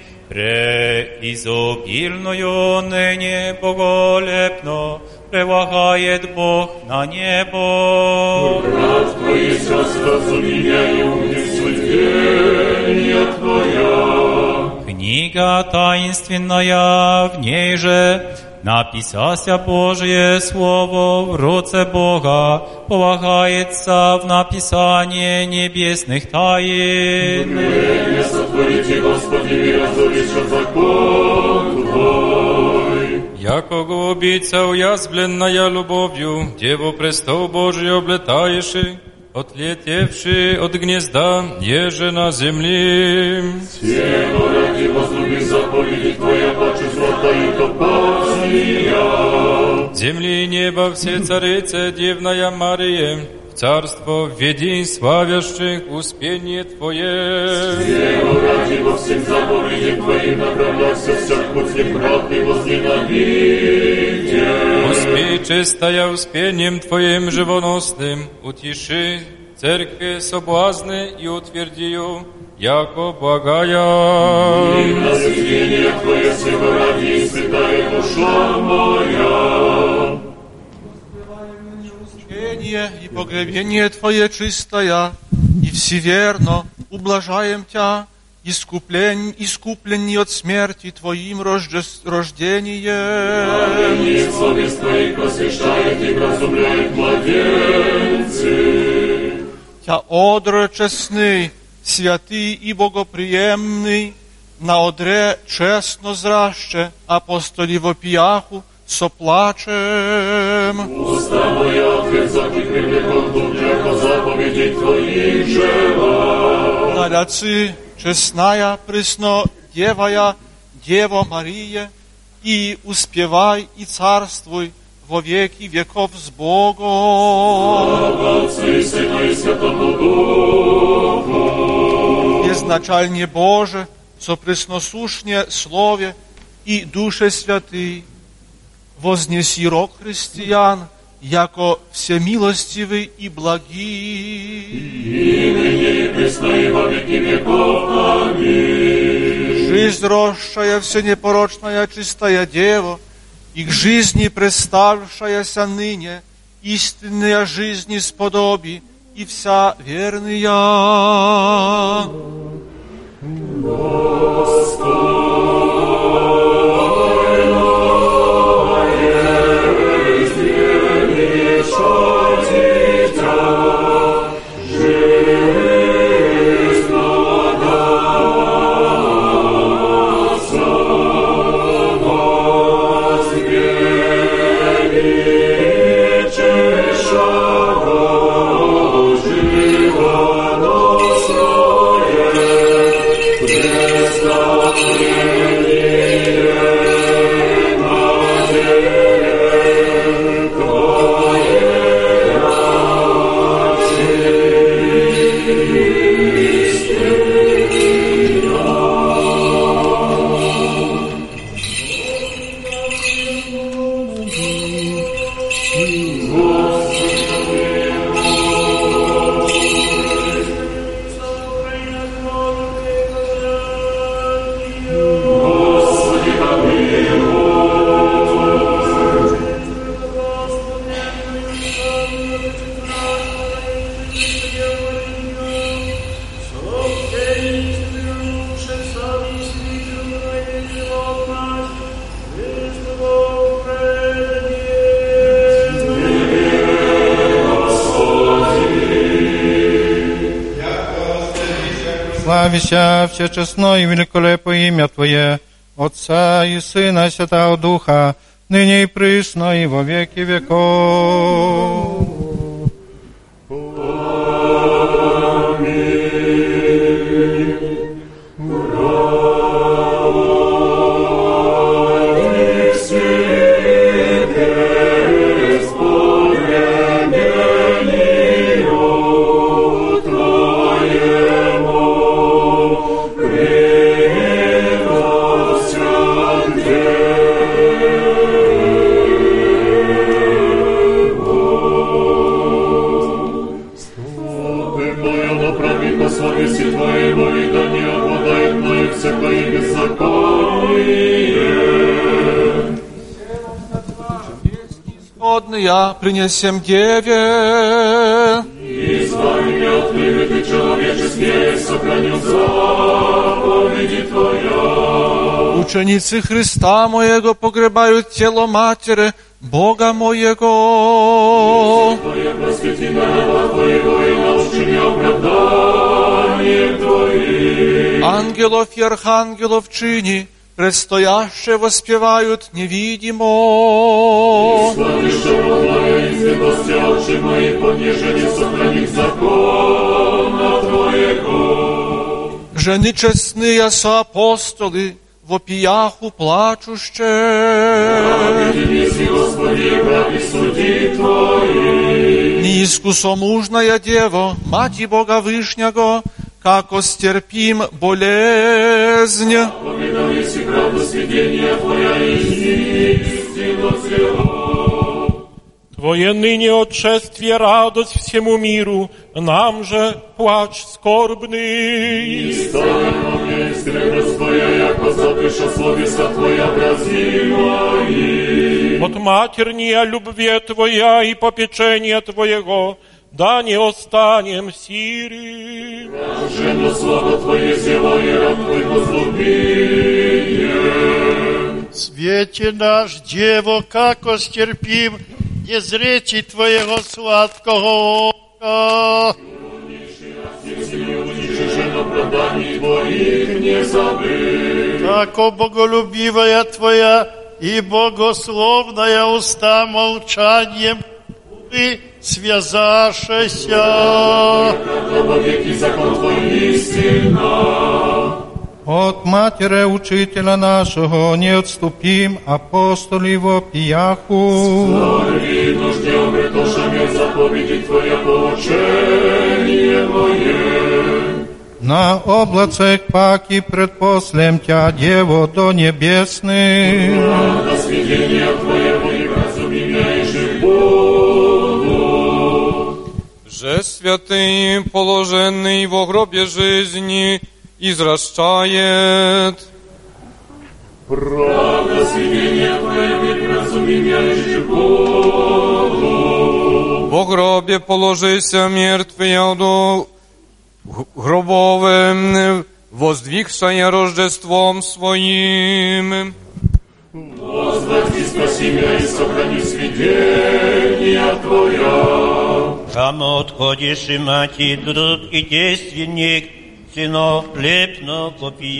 M: преизобильную ныне боголепно, превлагает Бог на небо.
E: Брат Твой сейчас разуми меня и умни свидетельния Твоя.
M: Книга таинственная, в ней же написася Божие Слово в руце Бога, полагается в написание небесных тайн.
E: Время сотворите, Господи, и разоришь закон Твой.
G: Яко голубица уязвленная любовью, Деву престол Божий облетаешь, отлетевший от гнезда, еже на земли.
E: Сего ради возлюби заповеди Твоя, паче злата и топазия.
G: Земли и неба все царицы, Дивная Мария, в царство введи славящих успение Твое.
E: Сего ради во всем заповедям Твоим направляйся, всяк путь неправды возненавидя.
G: Успей, чистая, успением Твоим живоносным, утеши церкви соблазны и утвердию, яко благая.
E: И на сведение Твое всего ради, святая душа моя.
F: И погребение Твое чистое, и всеверно ублажаем Тя, искуплен, искуплен от смерти Твоим рожде, рождением.
E: И совесть Твоих просвещает и вразумляет младенцы.
F: Тя одре честный, святый и богоприемный, на одре честно зраще, апостоли в опияху, соплачем.
E: Уста моя отверзати привлеком дух, яко заповеди Твоих жела.
F: Наляцы, честная, пресно, девая, Дева Мария, и успевай и царствуй во веки веков с Богом.
E: Слава Отцу и Сыну и Святому Духу.
F: Безначальне Боже, со пресносушне Слове и Душе Святый, вознеси рок христиан, яко всемилостивый и благий.
E: И ныне и пресно и во веки веков. Аминь.
F: Жизнь росшая, всенепорочная, чистая Дева, и к жизни представшаяся ныне, истинная жизнь исподоби, и вся верная.
K: Славися всечестно и великолепо имя Твое, Отца и Сына и Святого Духа, ныне и присно и во веки веков.
F: Я принесем Деве.
E: Избави меня от клеветы человеческие, сохраню заповеди Твоя.
F: Ученицы Христа Моего погребают тело Матери Бога Моего.
E: Твое просвети народ Твоего и научи меня оправданием Твоим.
F: Ангелов и архангелов чини, предстояще воспевают невидимо.
E: Славище Твоя и святости очи мои, понижение сохранит закона Твоего.
F: Жени честные соапостолы, в опияху плачуще.
E: Праведницы, Господи, ради суди Твои.
F: Неискусомужная Дева, Мати Бога Вышнего, како стерпим болезнь.
E: Поминали си правду сведения Твоя, истину цело.
R: Твое ныне отшествие радость всему миру, нам же плач скорбный.
E: И ставим мне стрелос Твоя, яко запиша словеса Твоя бразимая.
R: От матерния любви Твоя и попечения Твоего, да не останем сири.
E: Блаженно слава Твоя зела и раб Твой возлюбием.
C: Свете наш, Дево, како стерпим, не зречи Твоего сладкого ока. Како боголюбивая Твоя и богословная уста молчанием Ты связашься.
K: От матери учителя нашего не отступим, апостолі вопияху.
E: Слави нуждем притошами заповеди Твоя поучение мое.
K: На облацах паки предпослем Тя, Дево, до небесных.
E: Правда сведения Твоего и разуми меня и жив буду.
G: Же святый, положенный во гробе жизни, извращает.
E: Правда сведения Твоего и разуми меня и жив буду.
G: Во гробе положися мертвый, до гробовым, воздвигшая Рождеством Своим.
E: Возврати, спаси меня и сохрани свидетения Твоя.
H: Там отходишь и мати, друг и действенник, сыно лепно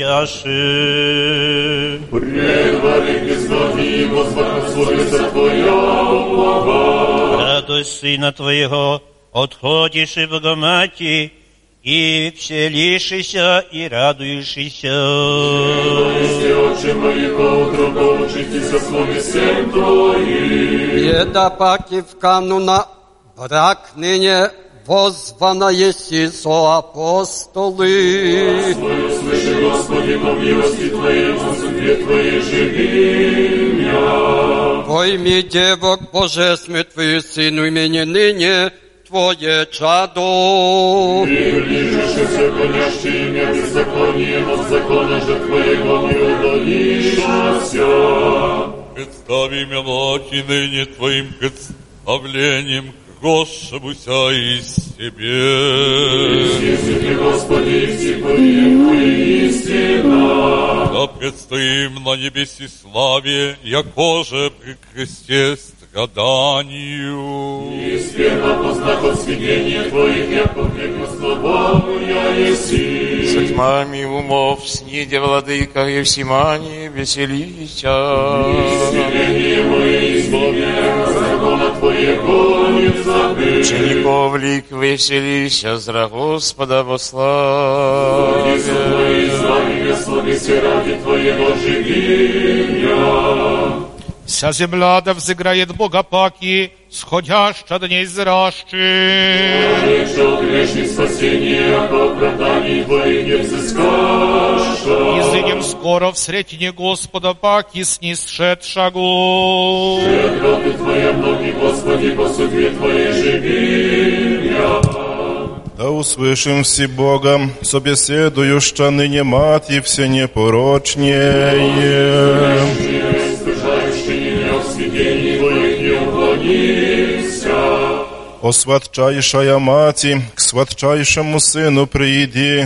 H: попияши.
E: Предвари безгоди, возврати словеса Твоя Бога.
H: Радость Сына Твоего, отходишь и Богомати, и вселишься и радуешься.
E: Если отче мои поутру поучитесь о слове всем Твоим.
O: Беда паки в кануна, брак ныне возвана еси со апостолы.
E: Свою слыши, Господи, по милости Твоей, по судьбе Твоей живи меня.
O: Пойми, девок божественный Твою Сыну имени ныне, Твое чадо.
E: И ближешься, гонящий имя беззаконием, от закона же Твоего не удалишься.
P: Представи мелочи ныне Твоим представлением к Господуся из себе.
E: Исчезни, Господи, и всепоем Твои истина.
P: Да предстоим на небеси славе, якоже при кресте страданию.
E: И сперва познав от сведения Твоих, яко веку слабому я еси.
I: С тьмами умов сниде, владыка Евсимани, веселися.
E: И сведения мои исполняя, закона Твоего не забыть.
I: Учеников лик веселися, зра Господа во славе.
E: Иисус мои, слави Господи, все ради Твоего живи я.
N: Вся земля да взыграет Бога паки, сходяща дней зращи.
E: Что грешный спасение, а по оправдании Твоих не взыскаша.
N: Изыдем скоро в сретине Господа паки снисшедшагу.
E: Щедроты Твоя многие, Господи, по судьбе Твоей живи я.
S: Да услышим все Богом, собеседующа ныне мать все непорочнее. О сватчайшая мати, к сватчайшему сыну приди,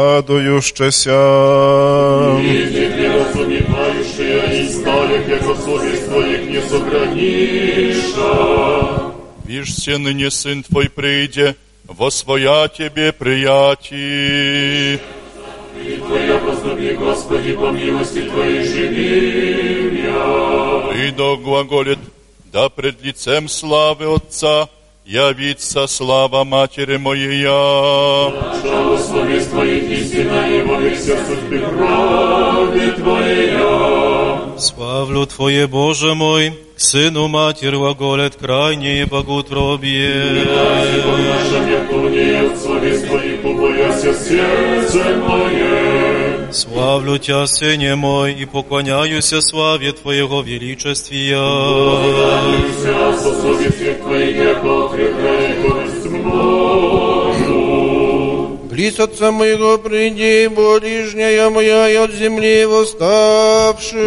S: радующаяся.
E: Видит неразумевающая, и старых, яко совесть Твоих не сохраниша.
J: Вишь, се ныне сын Твой прийде, восвоя Тебе приятий.
E: И Твоя возлюби, Господи, по милости Твоей живи я.
J: И да глаголит, да пред лицем славы Отца явится слава Матери Моя.
E: Что словес Твоих истина, и во веся судьбы крови Твоя.
T: Славлю Твое, Боже мой, к Сыну Матерь глаголет крайнее богоутробие.
E: По нашем якуне, от словес Твоих убояся сердце мое.
T: Славлю Тя, Сыне мой, и поклоняюся славе Твоего величествия.
E: Поклоняюся со славе всех Твоих, яко отрекаемость мною.
Q: Близ Отца моего приди, ближняя моя, и от земли восставши.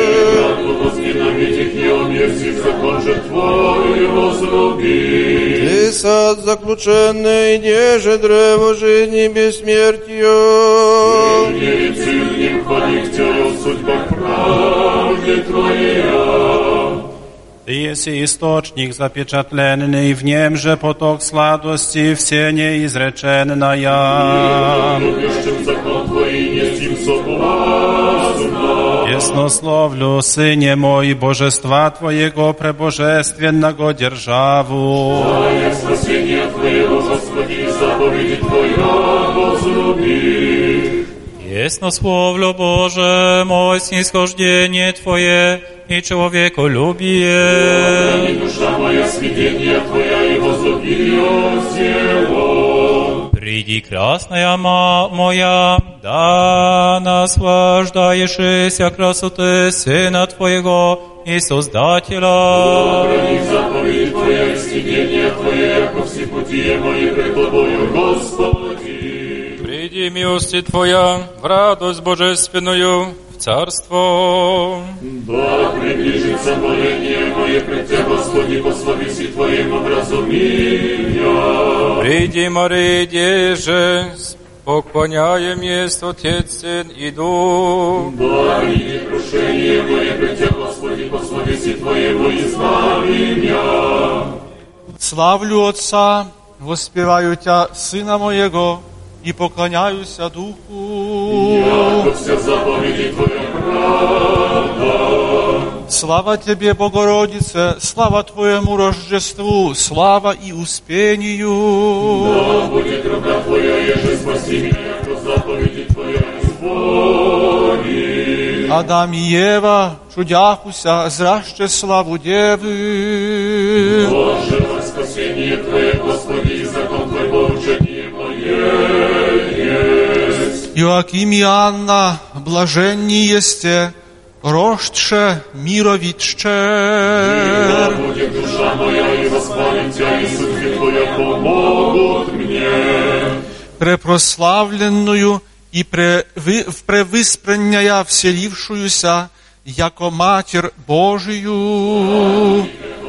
Q: Закон же Твой возлюби. Ты сад заключенный, где же древо жизни бессмертия?
E: Не цель ним ходить Тя, судьба правды Твоя.
L: Ty jesi istocznik zapieczatlenny i w niem, że potok sładości w sienie izreczena ja. Piesnosłowlu, Synie mój, Bożestwa Twojego prebożestwiennego dzierżawu.
E: Jak spasienie Twojego, Господи, zapowiedzi Twoja возлюби.
M: Яснословлю Боже, мой снисхождение Твое и человеколюбие.
E: И душа моя сведения Твоя и возлюби его.
M: Приди, красная моя, да наслаждаешься красоты Сына Твоего и Создателя.
E: Храни заповеди Твоя и сведения Твоя, яко все пути мои пред Тобою, Господи.
G: Приди, милости Твоя, в радость божественную, в царство.
E: Да приближится моление мое пред Тебя, Господи, по словеси Твоему образуми меня.
G: Приди, Мария, деже, поклоняем есть Отец, Сын и Дух.
E: Да приди крушение мое пред Тебя, Господи, по словеси Твоему избави меня.
F: Славлю Отца, воспеваю Тя, Сына моего, и поклоняюся Духу.
E: Яко вся заповеди Твоя правда.
F: Слава Тебе, Богородице, слава Твоему Рождеству, слава и Успению.
E: Да будет рука Твоя, еже спаси меня, яко заповеди Твоя исполни.
F: Адам и Ева, чудяхуся, зраще славу Девы.
E: Боже, во спасение Твое, Господи, и закон Твой поучение мое.
F: Joachim i Anna, блаженни есте, рождше мировидчер.
E: Да будет душа моя, и восхвалим Тя, и судьбы Твоя помогут мне.
F: Препрославленную и превы, превыспренняя вселившуюся, яко Матерь Божию.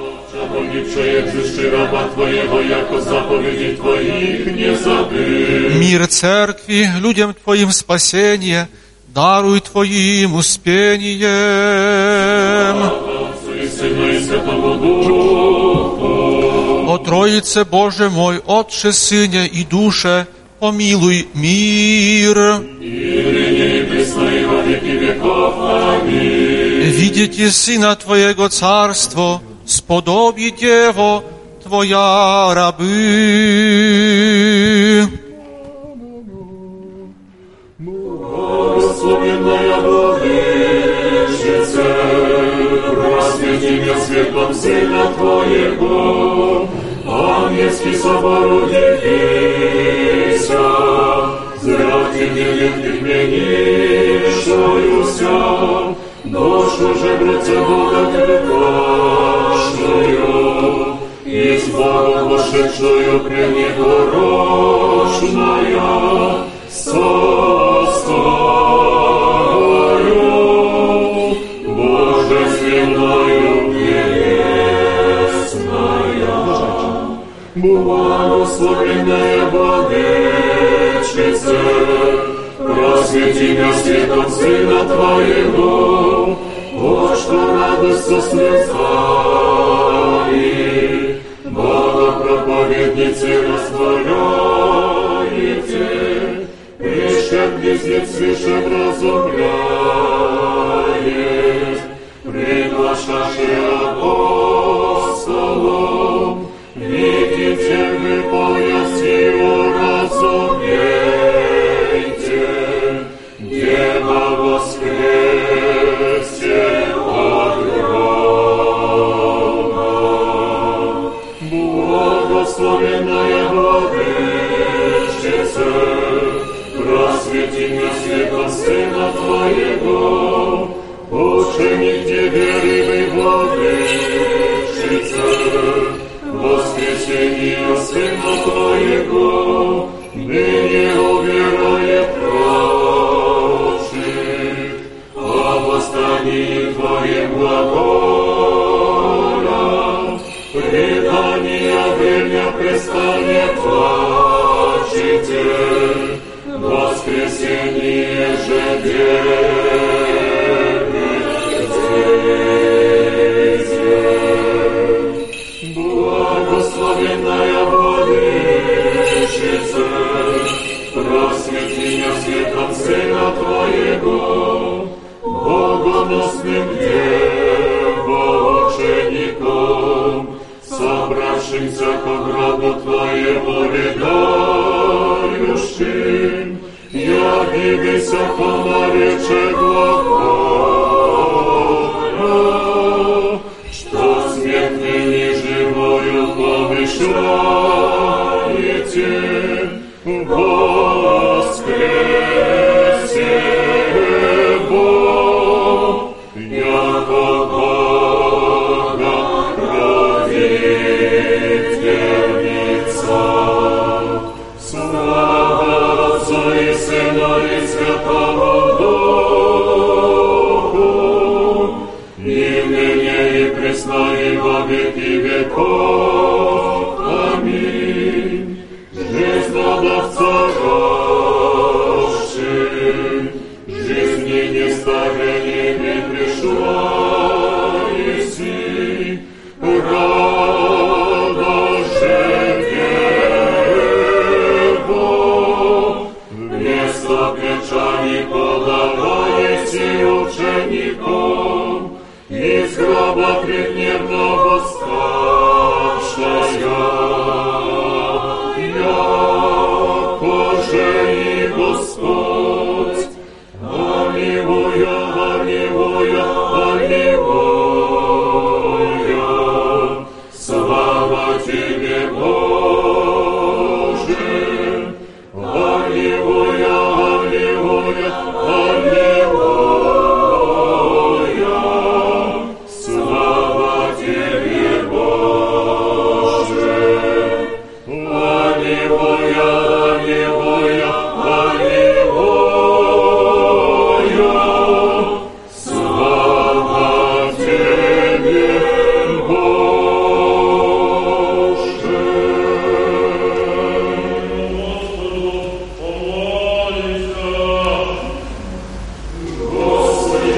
F: Мир Церкви, людям Твоим спасение, даруй Твоим успением. О Троице Боже мой, Отче, Сыне и Душе, помилуй мир. Видите Сына Твоего Царство, сподобить Его Твоя рабы.
E: Благословенная Владычице, просвети меня светом Сына Твоего, ангельский собор удивися, зряти невинных менишаюся, душу же братья Бога предпашную, и с Богом вошедшую пренепорочная, состою божественною небесная. Благословенная Владычице, просвети меня светом Сына Твоего, вот что радость со слезами, Богопроповедницы растворяете, прищем близнец свыше вразумляет, приглашаши апостолом, видите вы поясью разумейте, Дева воскресе от гроба. Благословенная Владычице, просвети меня светом Сына Твоего, ученик Тебе рыбы владычица, воскресение Сына Твоего, ныне уверует прочих, о восстании Твоем глаголя, предания время престанет плачете, воскресение же верните. Благословенная владычица, просвети меня светом Сына Твоего, богоносным девоучеником, собравшимся ко гробу Твоему рыдающим, явивися поморече глаголя, что смертный неживою помышляете, воскресе Бог, яко Бога родительница. Слава Отцу и Сыну и Святому Духу, и ныне и пресно и во веки веков. Аминь. Жизнь надавца рожший, жизни не старение не пришла, еси рано же вербо, вместо печали подаваете учеником, из гроба предневно восставшая, якоже и Господь. Аллилуйя, аллилуйя, аллилуйя. Слава Тебе, Боже. Аллилуйя, аллилуйя, аллилуйя. Слава Тебе, Боже. Аллилуйя, аллилуйя, аллилуйя. Слава Тебе, Боже. Господи,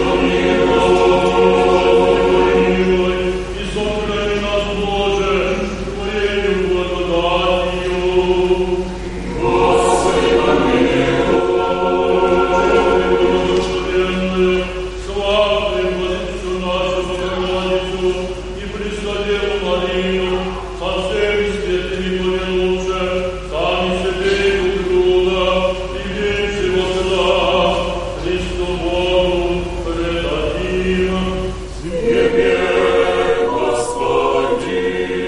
E: помилуй, и сохрани нас, Боже, Твоею благодатью. Господи, помилуй, благословенную, славную Владычицу нашу Богородицу и Преснодеву Марию, со всеми святыми помянувши, сами себе друг друга, и весь его суда, Христу Богу предадим. Тебе, Господи.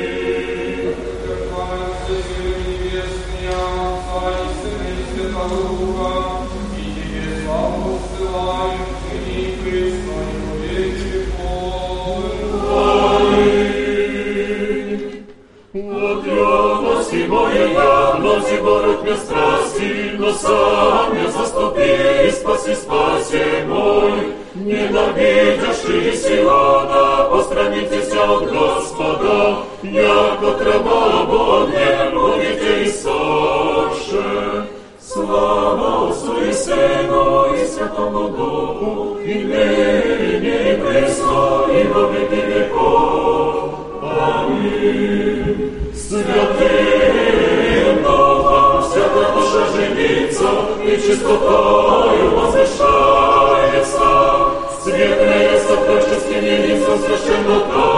E: От ревности моей явности борот мне страсти, но сам я заступи и спаси, спаси мой. Ненавидящие Сиона, постранитесь от Господа, яко трава Богне, будете и сорше. Слава Отцу и Сыну и Святому Духу, и ныне и пресно, и во веки веков. Аминь. Святым Духом всякая душа живится, и чистотою возвышается. Светлее сокровищеским единством священно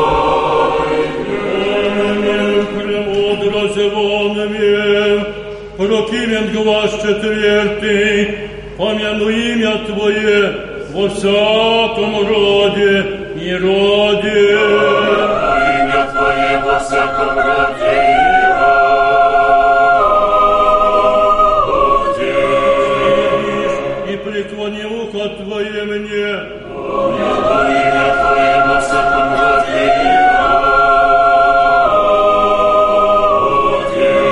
E: тайны. Премудрость волнами, прокимен глаз четвертый, помяну имя Твое во всяком роде и роде. Имя Твое во всяком роде и роде.
R: Твое мне.
E: Имя Твое во всяком роде и роде.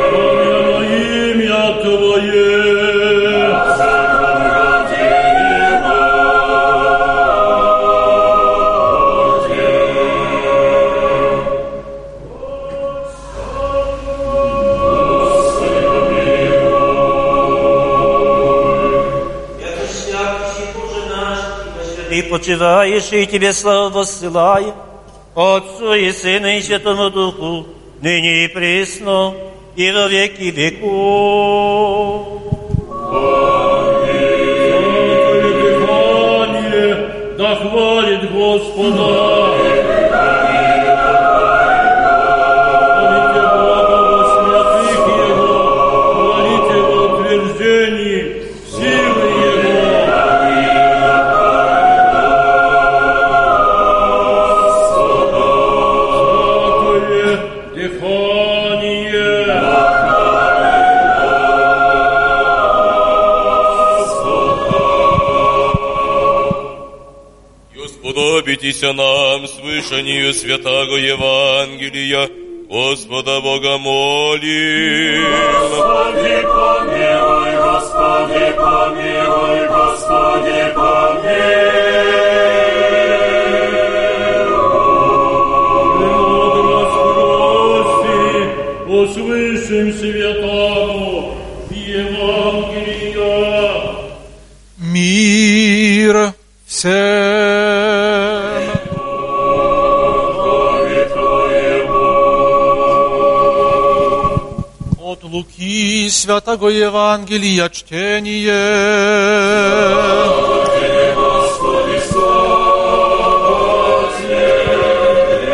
R: Имя Твое.
E: Во всяком роде и
H: Ты почиваешь, и Тебе славу воссылаем, Отцу и Сыну и Святому Духу, ныне и присно, и во веки веков.
R: Дыхание, да хвалит Господа. Хвалите Бога во святых Его, хвалите Его утверждений, силы Его.
B: Сподобитеся нам слышанию святаго Евангелия, Господа Бога молим.
E: Господи, помилуй, Господи, помилуй, Господи,
R: Премудрость прости, услышим святаго Евангелия. Мир всем. От Луки святого Евангелия чтение.
E: Господи, слава Тебе.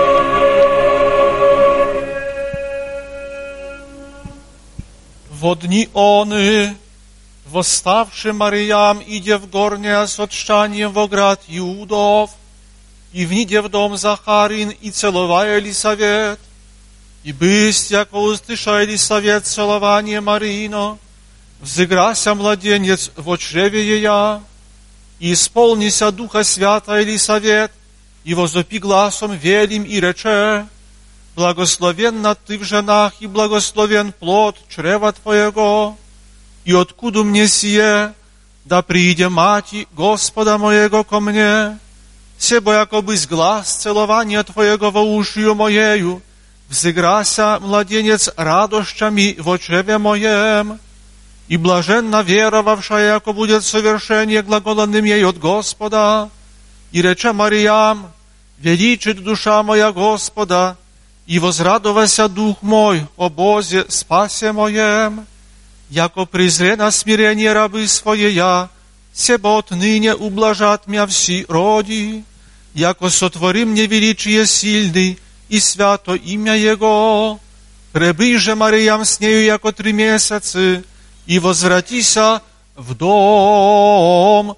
R: Во дни оны, восставший Мариям, идя в горнее с отщанием во град Иудов, и вниде в дом Захарин, и целовая Елисавет, и бысть, яко услыша Елисавет целование Мариино, взыграся младенец в чреве ея, и исполнися Духа Свята Елисавет, и возопи гласом велим и рече: благословенна ты в женах, и благословен плод чрева Твоего. И откуда мне сие, да прииде мати Господа моего ко мне, себо якобы с глаз целования Твоего во ушию моею, взыграся младенец радощами в чреве моем, и блаженна веровавшая, яко будет совершение глаголанным ей от Господа. И рече Мариям: величит душа моя Господа, и возрадовался дух мой о Бозе спасе моем, яко презре на смирение рабы своея, себо отныне ублажат мя вси роди, яко сотвори мне величие сильный и свято имя Его. Пребый же Мариям с нею яко три месяцы, и возвратися в дом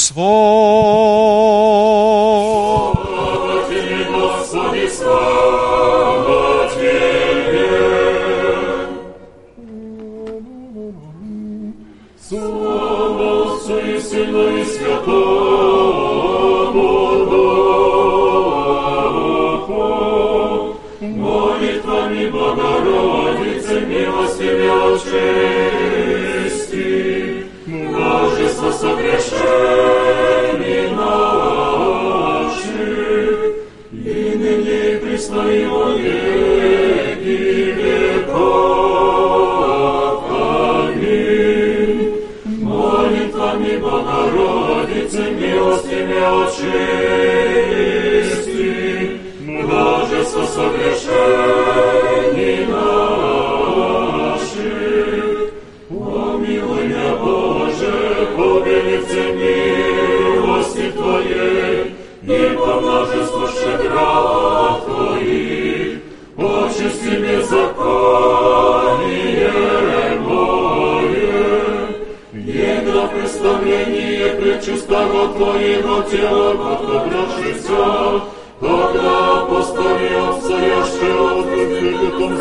R: свой.
E: Слава Тебе, Господи, слава Тебе. Слава Отцу и Сыну и Святому Духу. Молитвами Богородицы, милостивее чести, множество согрешений наших, и ныне и присно и во веки веков. Аминь. Молитвами Богородицы, милостивее чести, множество согрешений наших, помилуй меня, Боже, по велице милости Твоей и по множеству щедрот Твоих, очисти беззаконие мое, едно представление пречистого Твоего тела, подобравшихся, когда апостоли обстоящие от выкрытым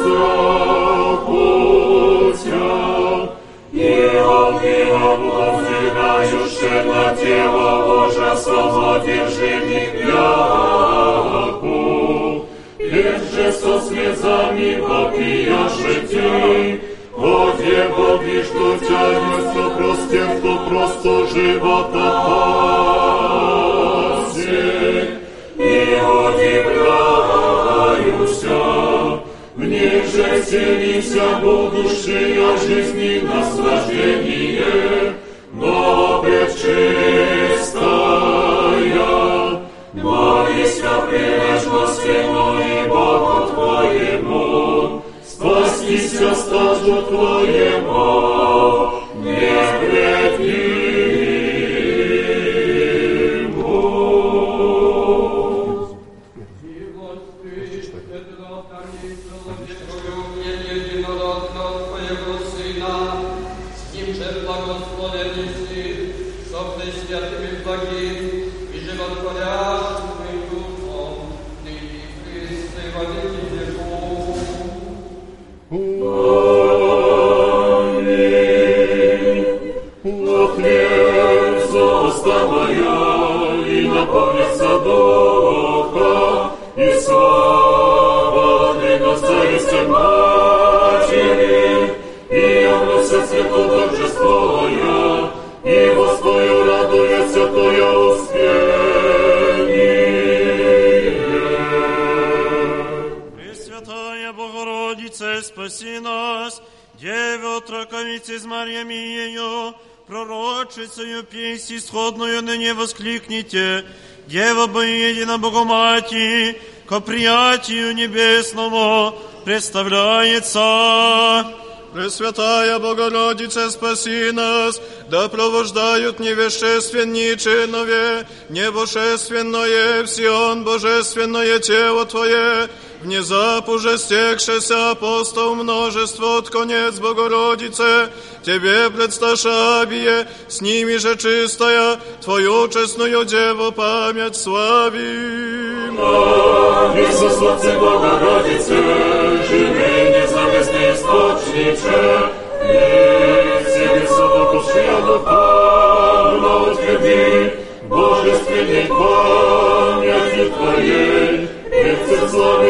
E: зракутя, и огнем воздвигающие Совершенно тело Божье самодержимых яку, лежи со слезами попияши ти, Оде Боги, что тянется простер, то просто живота пасе, и удивляюся, в них же селися будущая жизни наслаждение, но предчистая, молися прилежности, но и Богу Твоему, спастися стажу Твоему, не предвидиму. Наполнится духа и слава Царствия Матери, и явлюся свету торжествуя, и Господу радуется Твое успение.
C: Пресвятая Богородице, спаси нас, Деве отроковице с Марьями ее, пророчицею песнь исходную ныне воскликните, Дева Боедина Богомати, ко приятию небесному представляется.
Q: Пресвятая Богородице, спаси нас, да провождают невещественничинове, небожественное в Сион божественное тело Твое, внезапу же стекшеся апостол множество от конец Богородице, Тебе предсташабие, с ними же чистая, Твою честную Деву память славим.
E: Иисус, Отце Богородице, живи независный источниче, и себе совокушия духовно утверди, божественной памяти Твоей, и в сердцах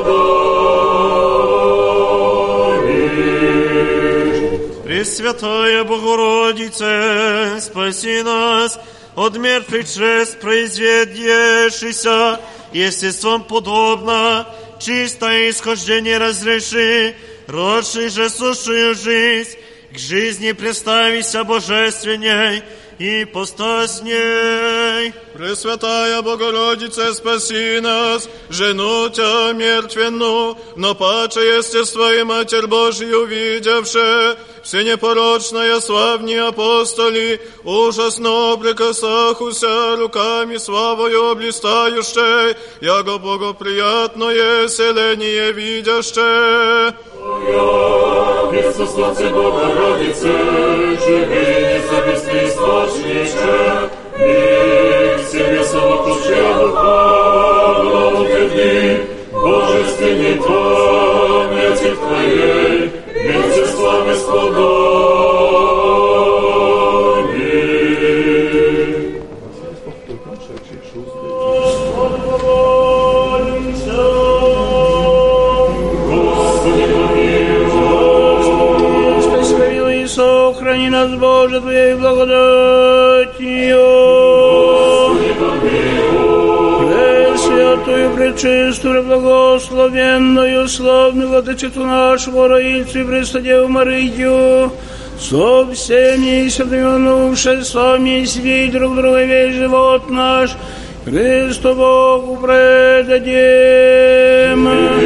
E: исподобишь.
C: Пресвятая Богородице, спаси нас от мертвых чрест произведешися, естеством подобно, чистое исхождение разреши, родший же сущую жизнь, к жизни представися божественней и постасней.
Q: Пресвятая Богородице, спаси нас, жену Тя мертвенну, но паче естество и Матерь Божию видевше, все непорочная славни апостоли, ужасно прикасахуся руками славою блистающей, яго богоприятное селение видяще.
E: Иисус, Отце Богородице, живи независный источниче, и к себе совокушия духовно утверди, божественной памяти Твоей, вместе славы сподобишь.
U: Сохрани нас, Боже, Твоей благодатью. Пресвятую, пречистую, благословенную, славную Владычицу нашу, Роильцу и Престодеву Марию, со всеми святыми сами себе и друг друга весь живот наш, Христу Богу предадим.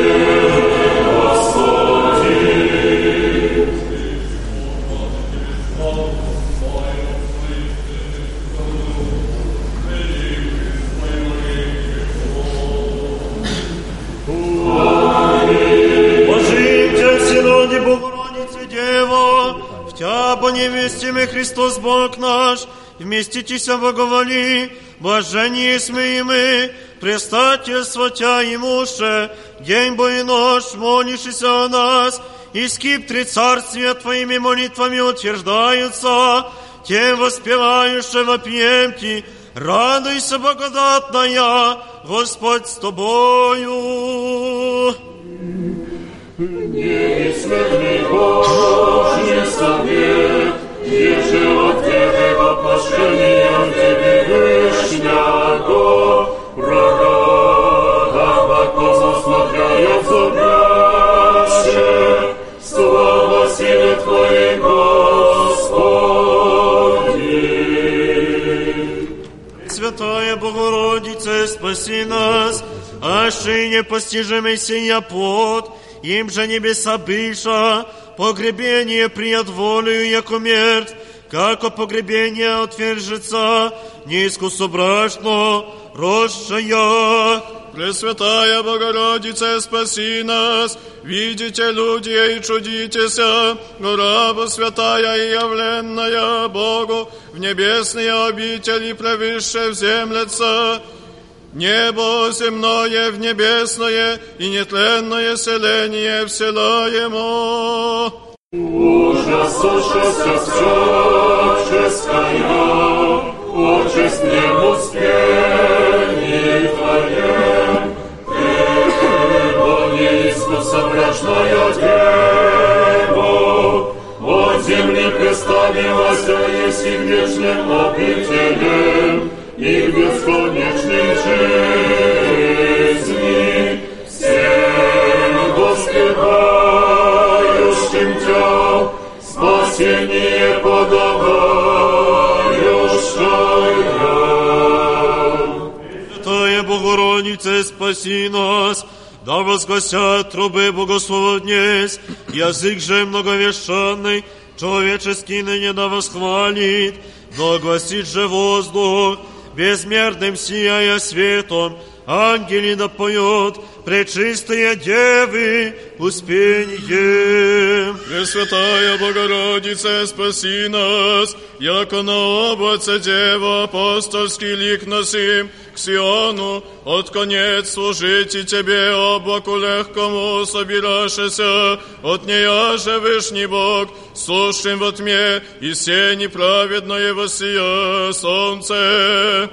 C: Богородице, Дева, в Тя по невестиме Христос Бог наш, вместитеся благоволи, блажение сме и мы, предстательство Тя имуше, день бо и ночь, молящийся о нас, и скиптри царствия Твоими молитвами утверждаются, тем воспевающим вопием Ти, радуйся, благодатная, Господь с тобою.
E: Неизменный Божий совет, еже от Твоего пошения Тебе Вышняго, врага, глубоко засмотряя зубяще, слава силы Твоей, Господи.
C: Святая Богородице, спаси нас, аще непостижимый сия плод, им же небеса быша, погребение прият волею, яко мертв, како погребение отвержется, неискусобрачно, росшая.
A: Пресвятая Богородице, спаси нас, видите, люди, и чудитеся, раба святая и явленная Богу, в небесные обители превыше вземлется, небо земное в небесное и нетленное селение вселяемо.
E: Ужас, ужас, всяческая, участь неуспений Твоем, Его неискусобрачная Дева, от земли представилась есть и вечным обителем, и в бесконечной жизни всем воспевающим Тя спасение подавающая.
C: Святая Богородице, спаси нас, да возгласят трубы богослова днесь, язык же многовещанный, человеческий ныне да восхвалит, но огласит же воздух, безмерным сияя светом, ангели да поет, пречистые девы, успение.
A: Пресвятая Богородице, спаси нас, яко на облаце Дева апостольский лик носим к Сиону, от конец служить и Тебе облаку легкому собирашеся, от нея же Вышний Бог, слушаем во тьме, и се неправедное воссия солнце.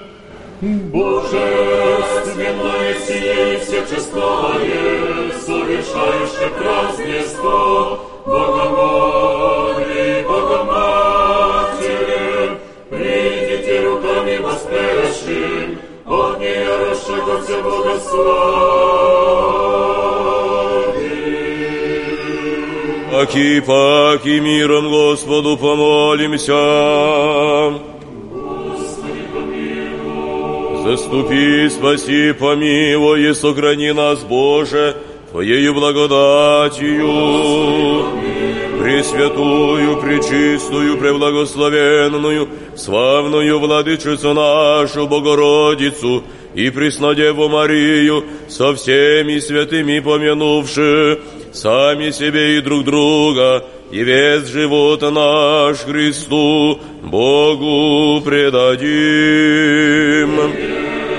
E: Божественное сие и всечестное, совершающее празднество, Богомолви, Богоматери, придите руками воспрящим, от нее расшагаться богослави.
B: Паки, паки, миром Господу помолимся. Заступи, спаси, помилуй и сохрани нас, Боже, Твоею благодатью, Пресвятую, Пречистую, Преблагословенную, славную Владычицу нашу, Богородицу, и Преснодеву Марию, со всеми святыми помянувши, сами себе и друг друга, и весь живот наш Христу, Богу предадим.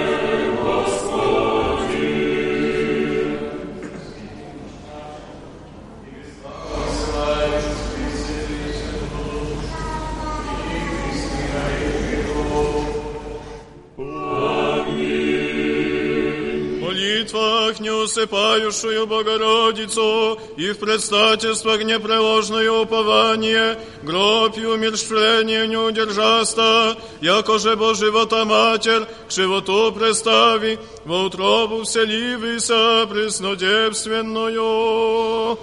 A: Неусыпающую Богородицу и в предстательствах непреложное упование, гроб и умерщвление не удержаста, яко же Бо живота Матерь к животу представи, во утробу вселивися преснодевственную.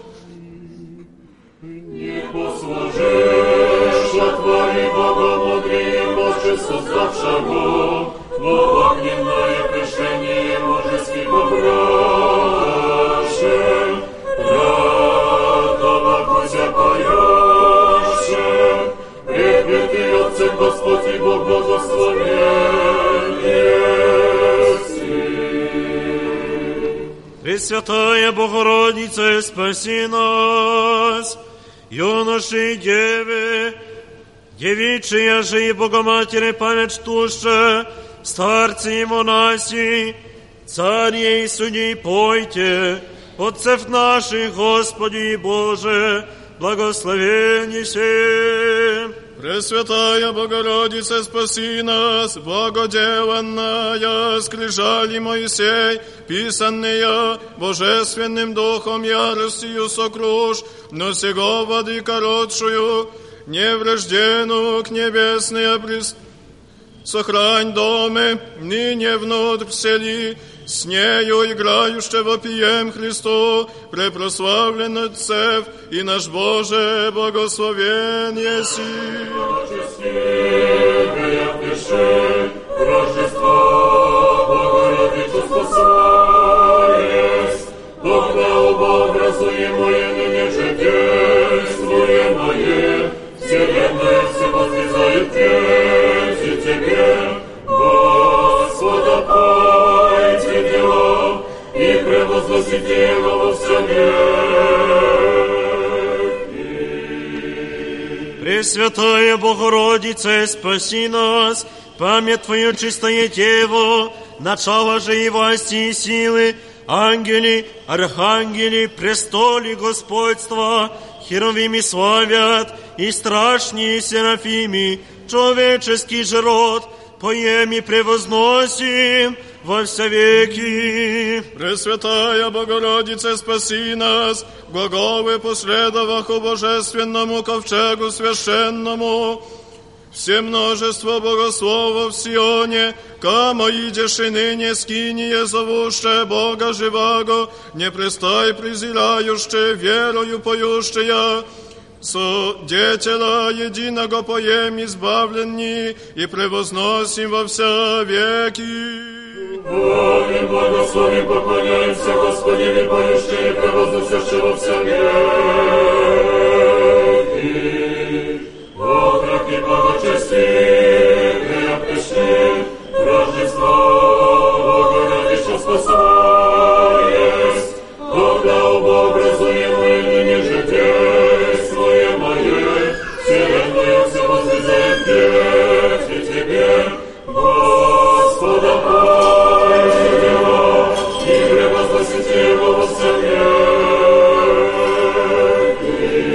E: Не послужишь отвори Богомудрием Боже создавшего, но огненное пришение мужески побраше, радова Кузя поеше, препятый Отцем Господь и Бог благословен еси.
C: Пресвятая Богородица, спаси нас, юноши и девы, девичья же и Богоматери память штуще, старцы и монаси, цари и судьи, пойте, отцев наших, Господи и Боже, благословеннейся.
A: Пресвятая Богородица, спаси нас, благоделанная, скрижали Моисей, писанные Божественным Духом яростью сокруш, но сего воды коротшую, неврожденную к небесной облист. Сохрань доме, ныне внутрь всели, с нею играющего пием Христу, препрославлен Отцев и наш Боже благословен еси.
E: Пречестивая пиши, Рождество Богородицу спасаешь, тогда образуемое ныне же действуемое, вселенная все возвязает дети Тебе, Господа, пойте дела и превозносите Его во все веки.
C: Пресвятая Богородице, спаси нас, память Твою чистое Дево, начало же и власти и силы, ангели, архангели, престоли господства, херувими славят, и страшнее серафими, человеческий же род, поем и превозносим во все веки.
A: Пресвятая Богородице, спаси нас, глаголы последоваху божественному ковчегу священному, все множество богословов в Сионе, кamo идешь и ныне скиния зовуще Бога живаго, не престай презирающее, верою поющая, Судетела единого поем избавленни и превозносим во все веки.
E: Богим благословим, поклоняемся Господи, поющие и превозносящие во все веки. Отрок и благочестивые пришли, Рождество Богородицу спасаешь, когда образуемое ныне же действуемое, вселенная все возвязает дети Тебе, Господа, пойте дела и превозносите Его во все веки.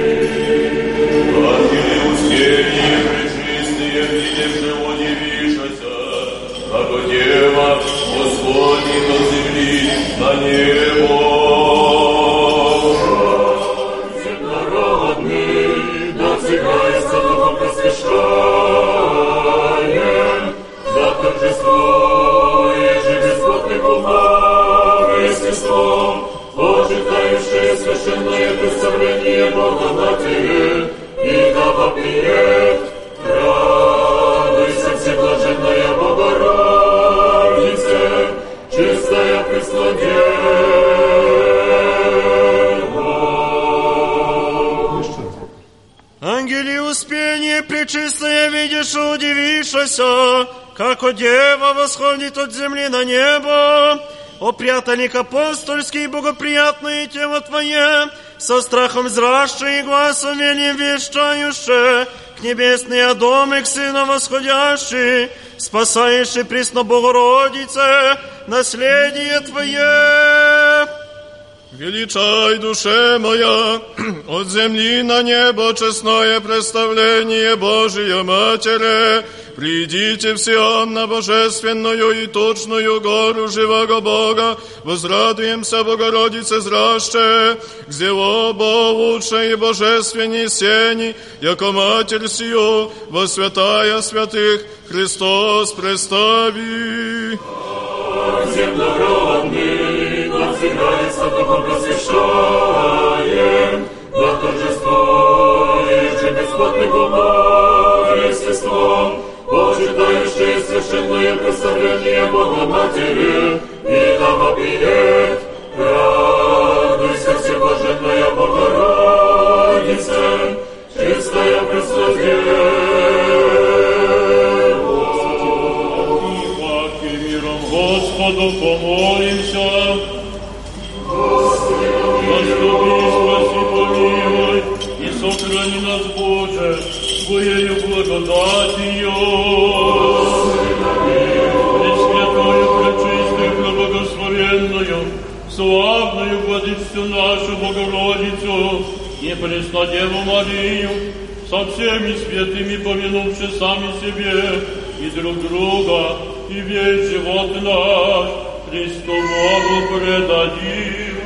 J: Ангели успения, пречистые, видевши удивишься, как Дева восходит от земли на небо.
E: Народный, надзирается духом просвещаем, за торжествуешь же бесплотным умом и естеством, почитающее священное представление Бога Матери, и да вопиет, радуйся, всеблаженная Богородице, чистая Преснодева.
C: Ангели успение, пречистое видишь и удивишься, како Дева восходит от земли на небо. О, прятальник апостольский, богоприятное тело Твое, со страхом зращее и гласом велим вещающе, к небесные домы, к Сына восходящий, спасаешь и присно Богородице, наследие Твое.
A: Величай, душе моя, от земли на небо честное представление Божия Матери. Придите в Сион на божественную и точную гору живого Бога, возрадуемся Богородице зраще, где оба лучше и божественней сени, яко Матерь сию, во святая святых Христос представи.
E: Земнородный, надзирается духом просвещаем, да торжествуешь же бесплотным умом и естеством, почитающее священное представление Бога Матери, и да вопиет, радуйся, всеблаженная Богородице, чистая Преснодева.
J: Господу помолимся. Господи, спаси, помилуй, и сохрани нас, Боже, Твоею благодатью. Господи, помилуй. Пресвятую, пречистую, преблагословенную, славную Владычицу нашу Богородицу и Преснодеву Марию,
E: со всеми святыми помянувши сами себе и друг друга, и весь живот наш Христу Богу предадим.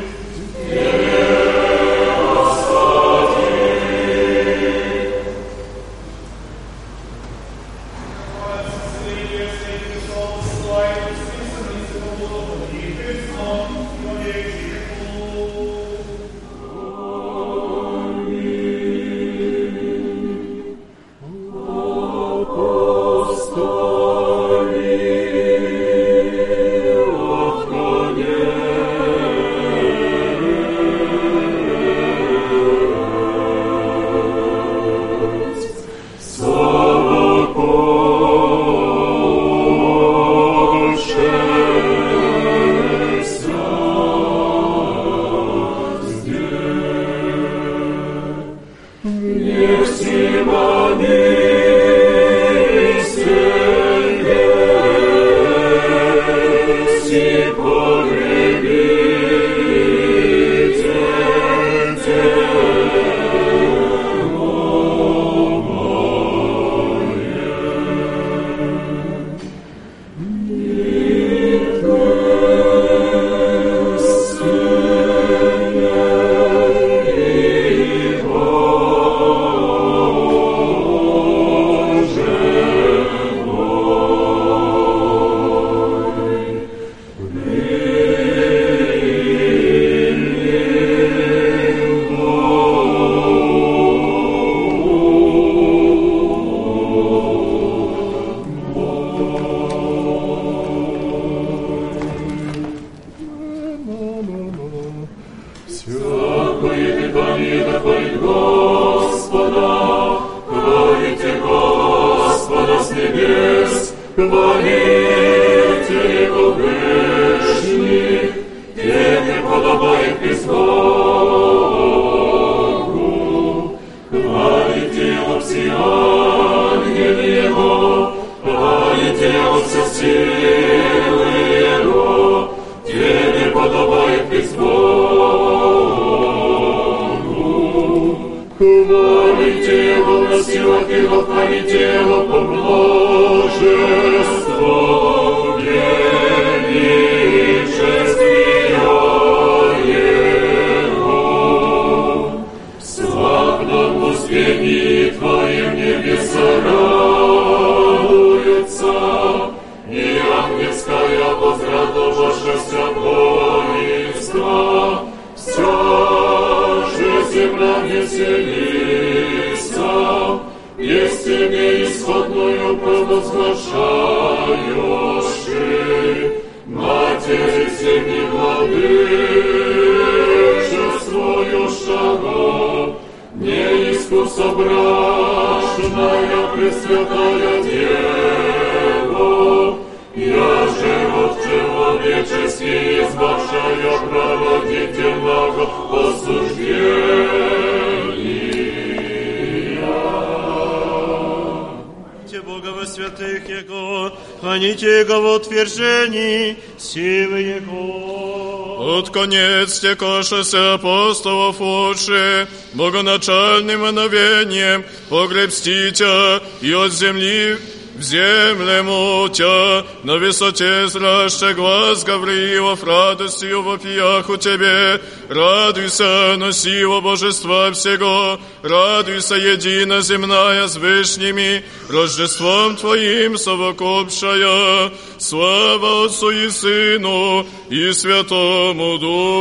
A: Стекошася апостолов отше, богоначальным мановением погребститя и от земли в землему тя, на высоте зраще глаз Гавриилов радостью вопиях у тебе. Радуйся, носиво божества всего, радуйся, едино земная с вышними, Рождеством Твоим совокупшая. Слава Отцу и Сыну и Святому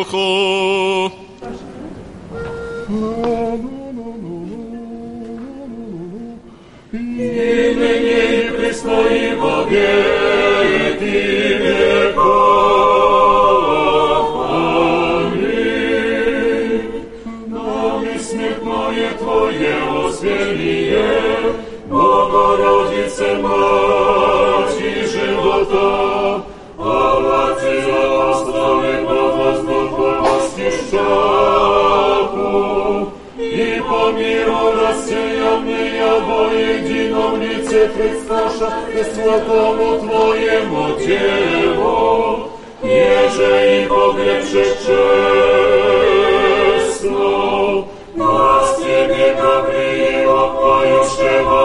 A: Духу.
E: И ныне и пресно и во веки веков. Аминь. Нам и смертное Твое успение, Богородице, Мати живота, овации апостолы под воздухом восхищаку, и по миру рассеянные во едином лице предсташа и святому Твоему телу, еже и погребше честно, нас Тебе, Гавриила,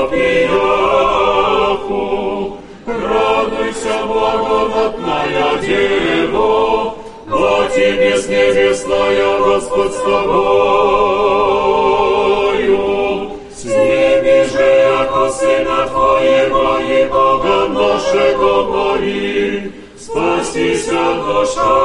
E: вопияху. Радуйся, благодатная Дева, во тебе с небесная Господь с тобою. Сними же, яко Сына Твоего и Бога нашего моли, спасися душа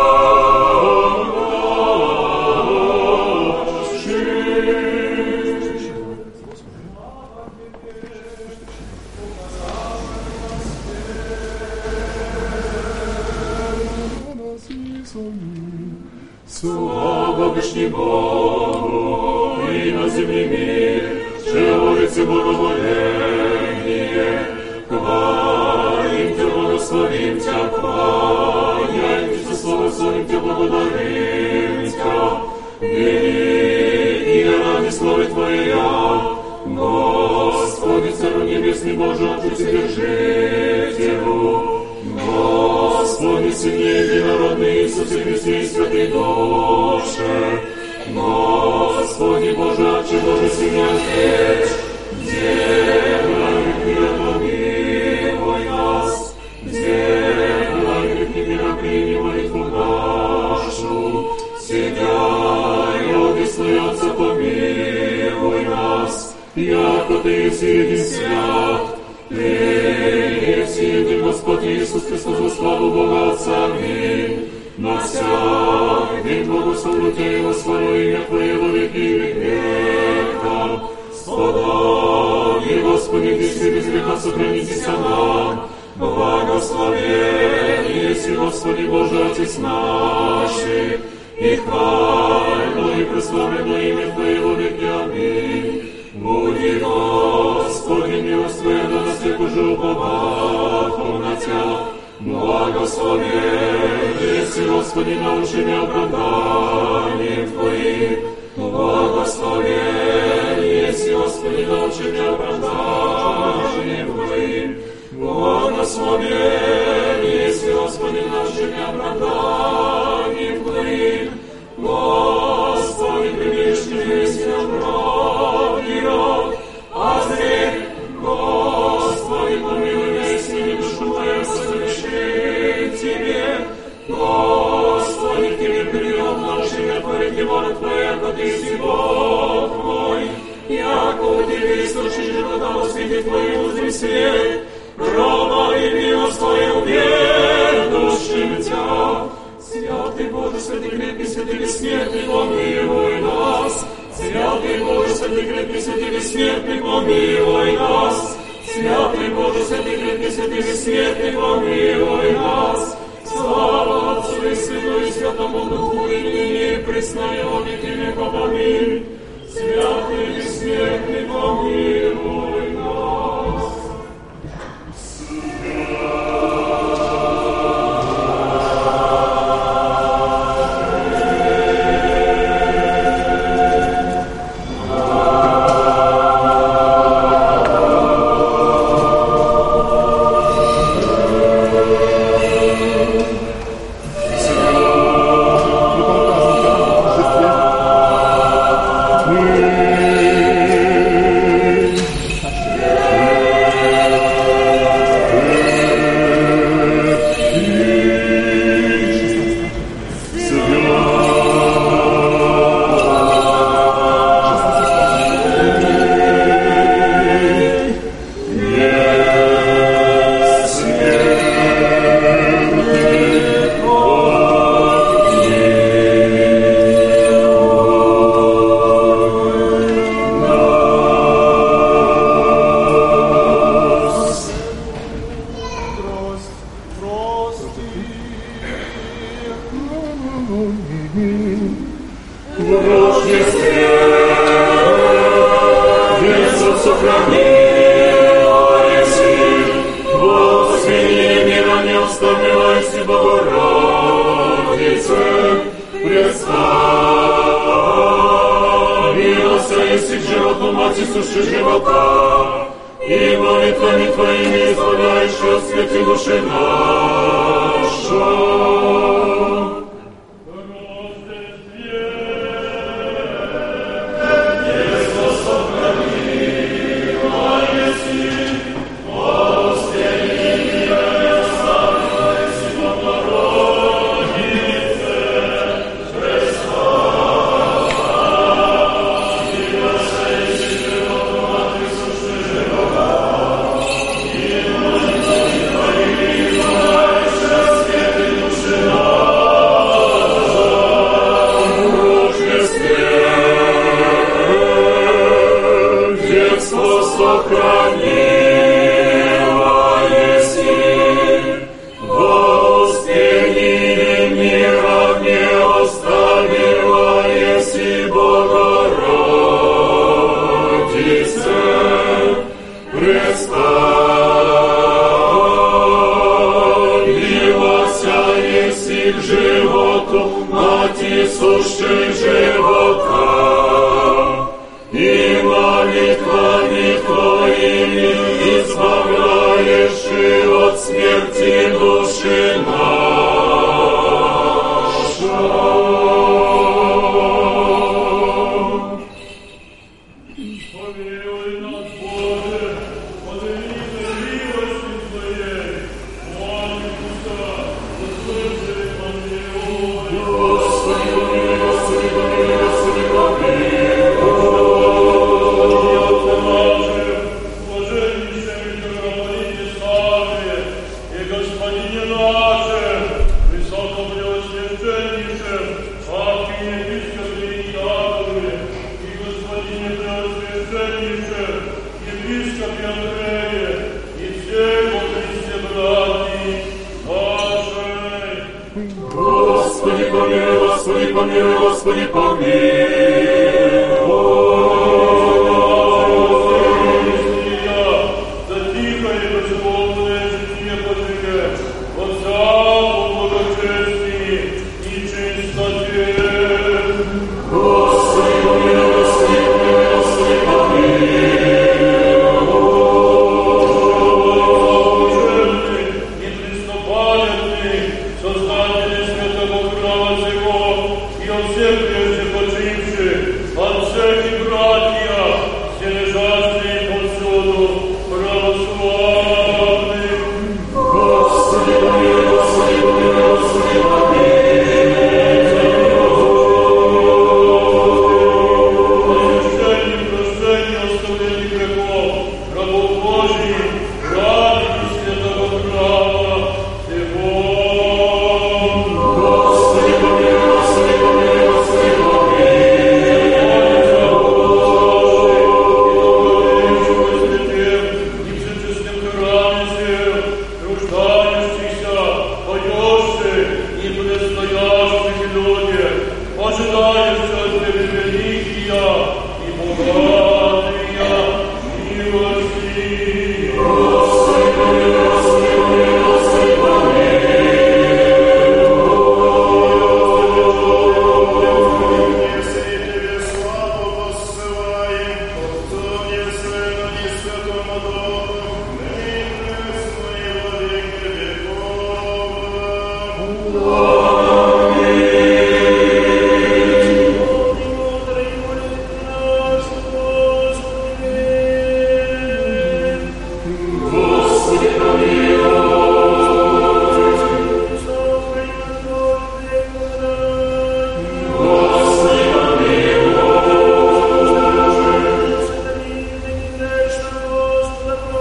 E: слава вышний Богу и на земле мир, живолице благоволение. Хвалим Тебя, благословим Тебя, хвалим Тебя, славословим Тебя, благодарим Тебя. И ради славы Твоя, Господи, Царю Небесный, Боже, Вседержителю, Господи, Сыне Единородный, Иисусе Христе и Святой Душе, Господи, Боже, Отче, Боже, Сыне, Отец, делай грехи, помилуй нас, делай грехи, мира, прими молитву нашу, сидя и одесную Отца, помилуй нас, яко Ты един свят, Ты един Господь Иисус Христос, во славу Бога Отца, аминь. На всяк день благословлю Тебя и восхвалю имя Твое во веки и веков. Сподобие, Господи, Ты без греха сохранитесь нам. Благословен еси, Господи, Боже, Отец наших, и хвально и прославлено имя Твое во веки, аминь. Буди, Господи, милость Твоя до нас, як уже уповахом на Тебя. Благословен еси, Господи, научи меня оправданием Твоим. Благословен еси, Господи, научи меня оправданием Твоим. Благословен еси, Господи, научи меня оправданием Твоим. Господи, прибежище весь нам род, озри, Господи, помилуй весь и душу мою согреши Тебе. Господи, к Тебе прием наш, имя Твое, воля Твоя, яко Ты си Бог мой, яко у Тебе источник живота во свете Твоем узри свет, грома и милость Твою ведущим Тебя. Святый Боже, святый крепкий, святый бессмертный, помилуй нас. Святый Боже, святый крепкий, святый бессмертный, помилуй нас. Святый Боже, святый крепкий, святый бессмертный, помилуй нас. Слава Отцу и Сыну и Святому Духу, и ныне и присно и во веки веков, аминь. Святый бессмертный, помилуй нас. Господи, сущей живота, и молитвами Твоими избавляешь и от смерти души наша. Господи, помилуй, Господи, помилуй, Господи,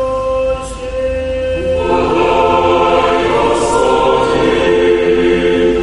E: Господи,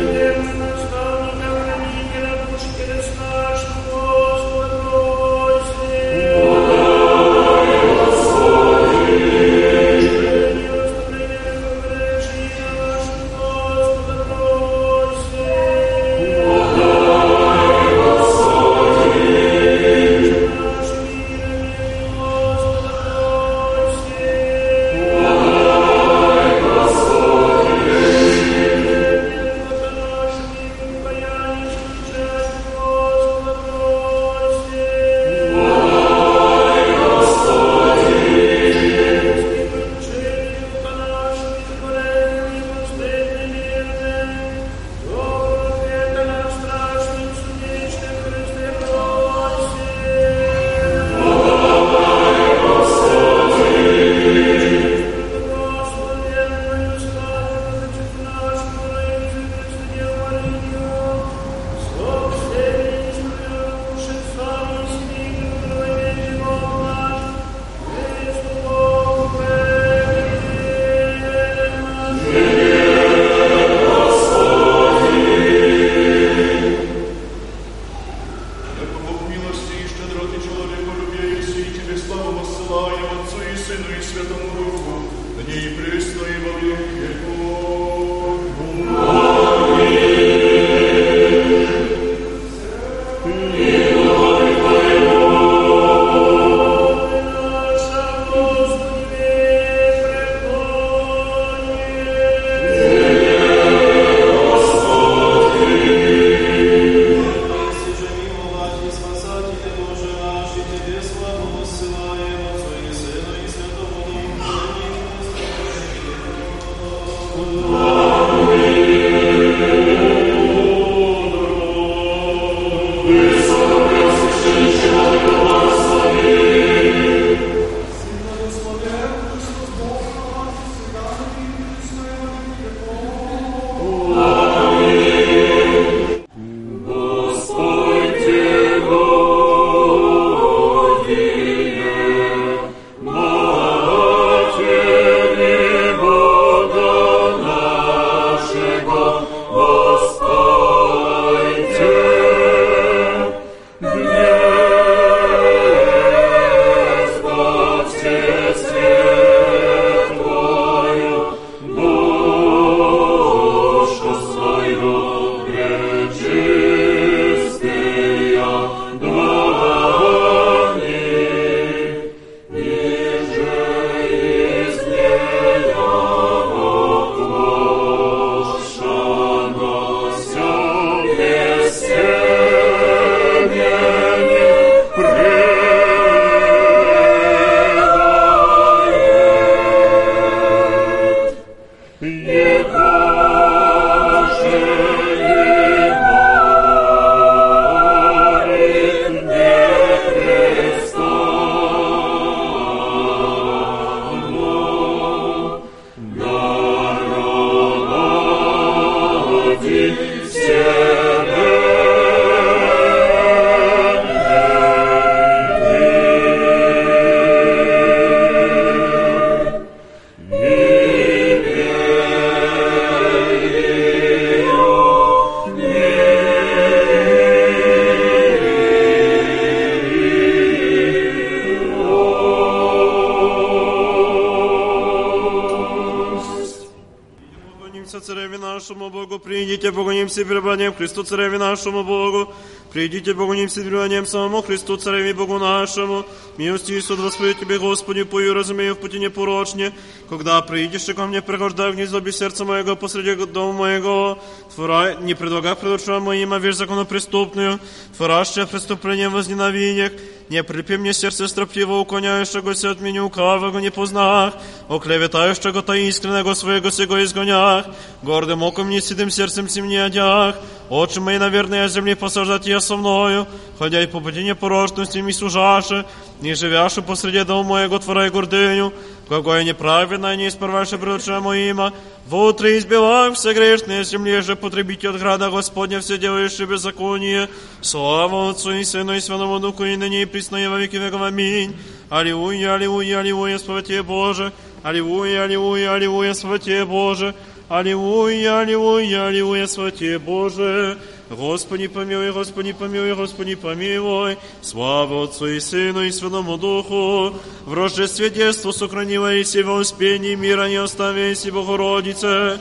C: Придите, поклонимся пребыванием Христу, Цареве нашему Богу. Придите, поклонимся пребыванием самому Христу, Цареве Богу нашему. Милости Иисус, Господи Тебе, Господи, пою, разумею в пути непорочне. Когда приидешь ко мне, пригождай в гнездо без сердца моего, посреди дома моего. Творай, не предлагай пред очами моим, а вещь законопреступную. Творящая преступлением возненавидях. Не прилепи мне сердце строптиво, уклоняющего се от меня лукавого не познах, оклеветающего та искреннего своего сего изгонях, гордым оком не седым сердцем сим не одях, очи мои, наверное, земли посаждать я со мною, ходя и по пути непорочности ми служаше, не живяше посреди дома моего твора и гордыню, какое неправедное, не исправляше пред очами моима, во утро избивах все грешные земли же потребите от града Господня все делающие беззаконие. Слава Отцу и Сыну и Святому Духу, и ныне и присно и во веки веков. Аминь. Аллилуйя, аллилуйя, аллилуйя, слава Тебе, Боже. Аллилуйя, аллилуйя, аллилуйя, слава Тебе, Боже. Аллилуйя, аллилуйя, аллилуйя, слава Тебе, Боже. Господи помилуй, Господи помилуй, Господи помилуй. Слава Отцу и Сыну и Святому Духу. В рождестве детства сохранила и во успении мира не оставяйся, Богородице.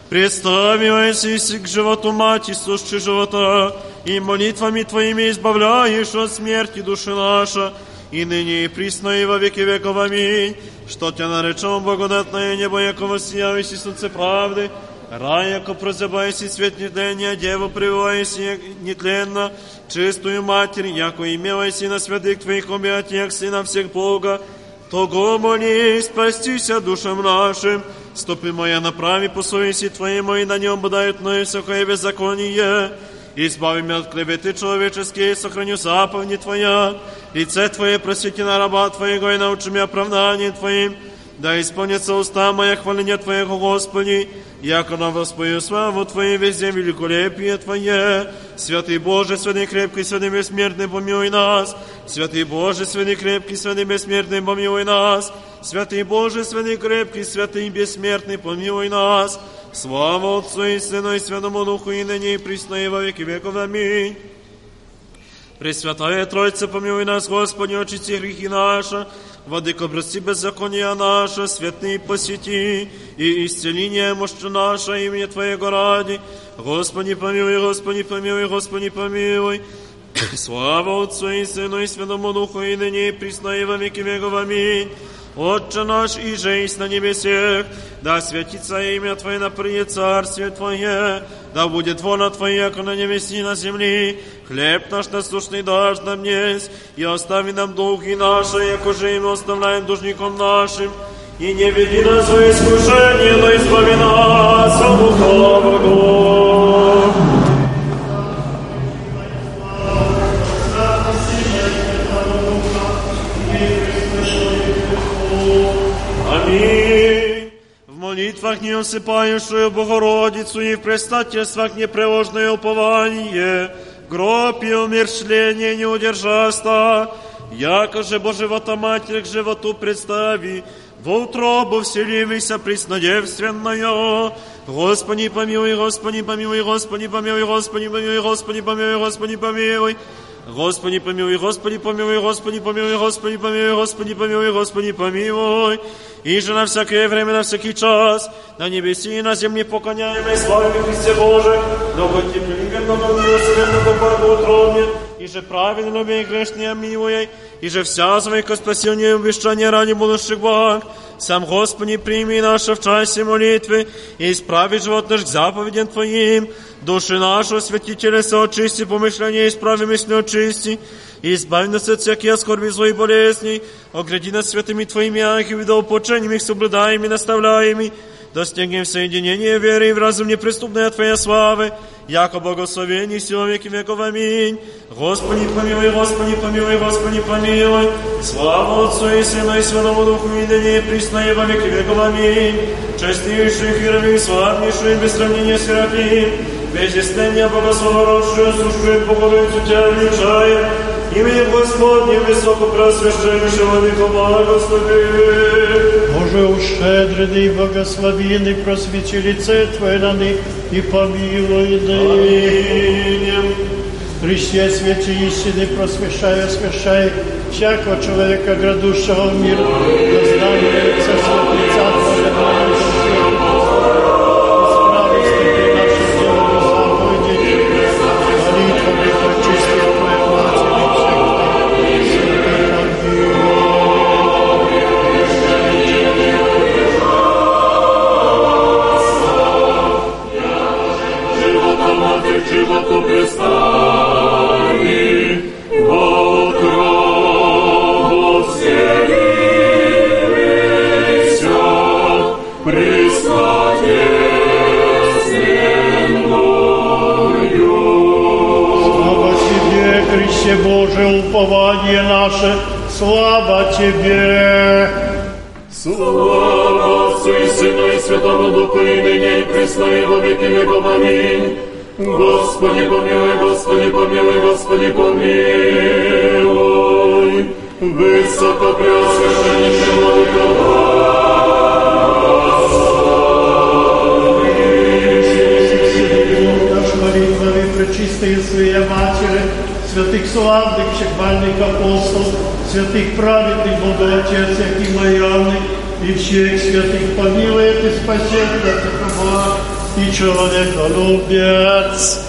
C: Представивайся к животу Мати, сущей живота, и молитвами Твоими избавляешь от смерти души наша, и ныне и присно и во веки веков. Аминь. Что Тебя наречем благодатное небо, яко воссияйся солнце правды, рай, яко прозябайся свет нетления, Деву прививайся нетленно, чистую Матерь, яко имелайся на святых Твоих объятиях, Сына всех Бога, того молись, спастися душам нашим. Стопы моя направи по совести Твоей моей, на нем бодают мною всякое беззаконие. Избави меня от клеветы человеческие, сохраню заповеди Твоя. Лице Твое просвети на раба Твоего и научи меня оправданием Твоим. Да исполнится уста моя хваления Твоего, Господи, яко на воспою славу Твою везде великолепие Твое. Святый Боже, святый крепкий, святый бессмертный, помилуй нас. Святый Боже, святый крепкий, святый бессмертный, помилуй нас. Святый Боже, святый крепкий, святый бессмертный, помилуй нас. Слава Отцу и Сыну и Святому Духу, и ныне и присно и во веки веков. Аминь. Пресвятая Троица, помилуй нас, Господи, очисти грехи наши. Владыко, прости беззакония наше, святый посети, и исцеление мощи наше, имени Твоего ради. Господи, помилуй, Господи, помилуй, Господи, помилуй. Слава Отцу и Сыну и Святому Духу, и ныне и присно и во веки веков. Аминь. Отче наш, и же есть на небесех, да святится имя Твое, да придет царствие Твое, да будет воля Твоя, как на небеси и на земли. Хлеб наш насущный дашь нам днесь, и остави нам долги наши, яко же и мы оставляем должником нашим. И не веди нас в искушение, но избави нас от лукавого. Аминь. В молитвах не осыпающую Богородицу и в предстательствах непреложное упование, гроб и умерщвление не удержаста, яко же Божьего-то Матерь к животу представи, во утробу вселивайся преснодевственная. Господи помилуй, Господи помилуй, Господи помилуй, Господи помилуй, Господи помилуй, Господи помилуй. Господи помилуй, Господи помилуй, Господи помилуй, Господи помилуй, Господи помилуй, Господи помилуй. И же на всякое время, на всякий час, на небеси и на земле поклоняем и славим Христе Боже, много терпеливым, много милосердным, много благоутробным, и же праведно любви и грешные милуй, и же всязывай ко спасению и обещания ради будущих благ. Сам Господи прими наши в часе молитвы и исправи живот наш к заповедям Твоим. Души нашу святи телеса очисти, помышления исправи мысли очисти, и избави нас от всяких скорби, злой болезней, огради нас святыми Твоими ангелами, да упочениями их соблюдаем и наставляем, достигнем соединения веры и в разум неприступной от Твоей славы, яко благословение все веки веков. Аминь. Господи, помилуй, Господи, помилуй, Господи, помилуй. Слава Отцу и Сыну и Святому Духу, и ныне и присно и во веки веков. Аминь. Честнейший Херовим, славнейший, без сравнения Серафим, без истения богословородшую, сущую Богородицу Тебя величаем, именем Господним высокопросвященнейшего века благослови.
D: Боже, ущедреный, благословенный, просвети лице Твое на них и помилуй ныне. Христе, свете истины, просвещай, освящай всякого человека, грядущего в мир, на знание лица святliца Твоего,
E: животу представи, во утробу вселися, преснодесленною.
D: Слава Тебе, Христе Божий, упование наше, слава Тебе.
E: Слава Отцу и Сыну и Святому Духу, и ныне и присно и во веки веков. Аминь. Господи, помилуй, Господи, помилуй, Господи, помилуй. Высокопреосвященнейший владыка
D: наш молитвами пречистые Своей Матери, святых славных, всехвальных апостолов, святых праведных Бога Отец, всяких лояльных и всех святых помилует и спасет от такого и человеколюбец.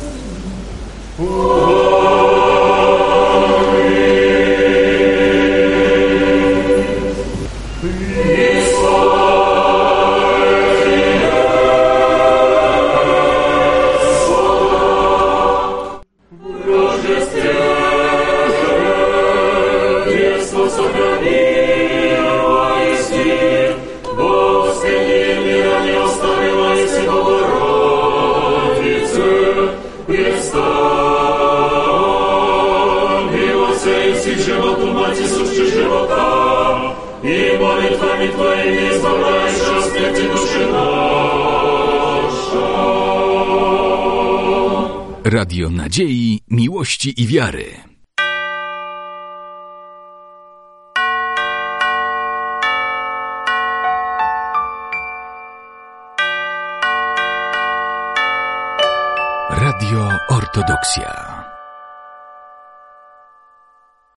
E: животу, Мати, сущий живота, и молитвами Твоими избавляешь от смерти души наша.
V: Radio Nadziei, Miłości i Wiary. Radio Ortodoksja.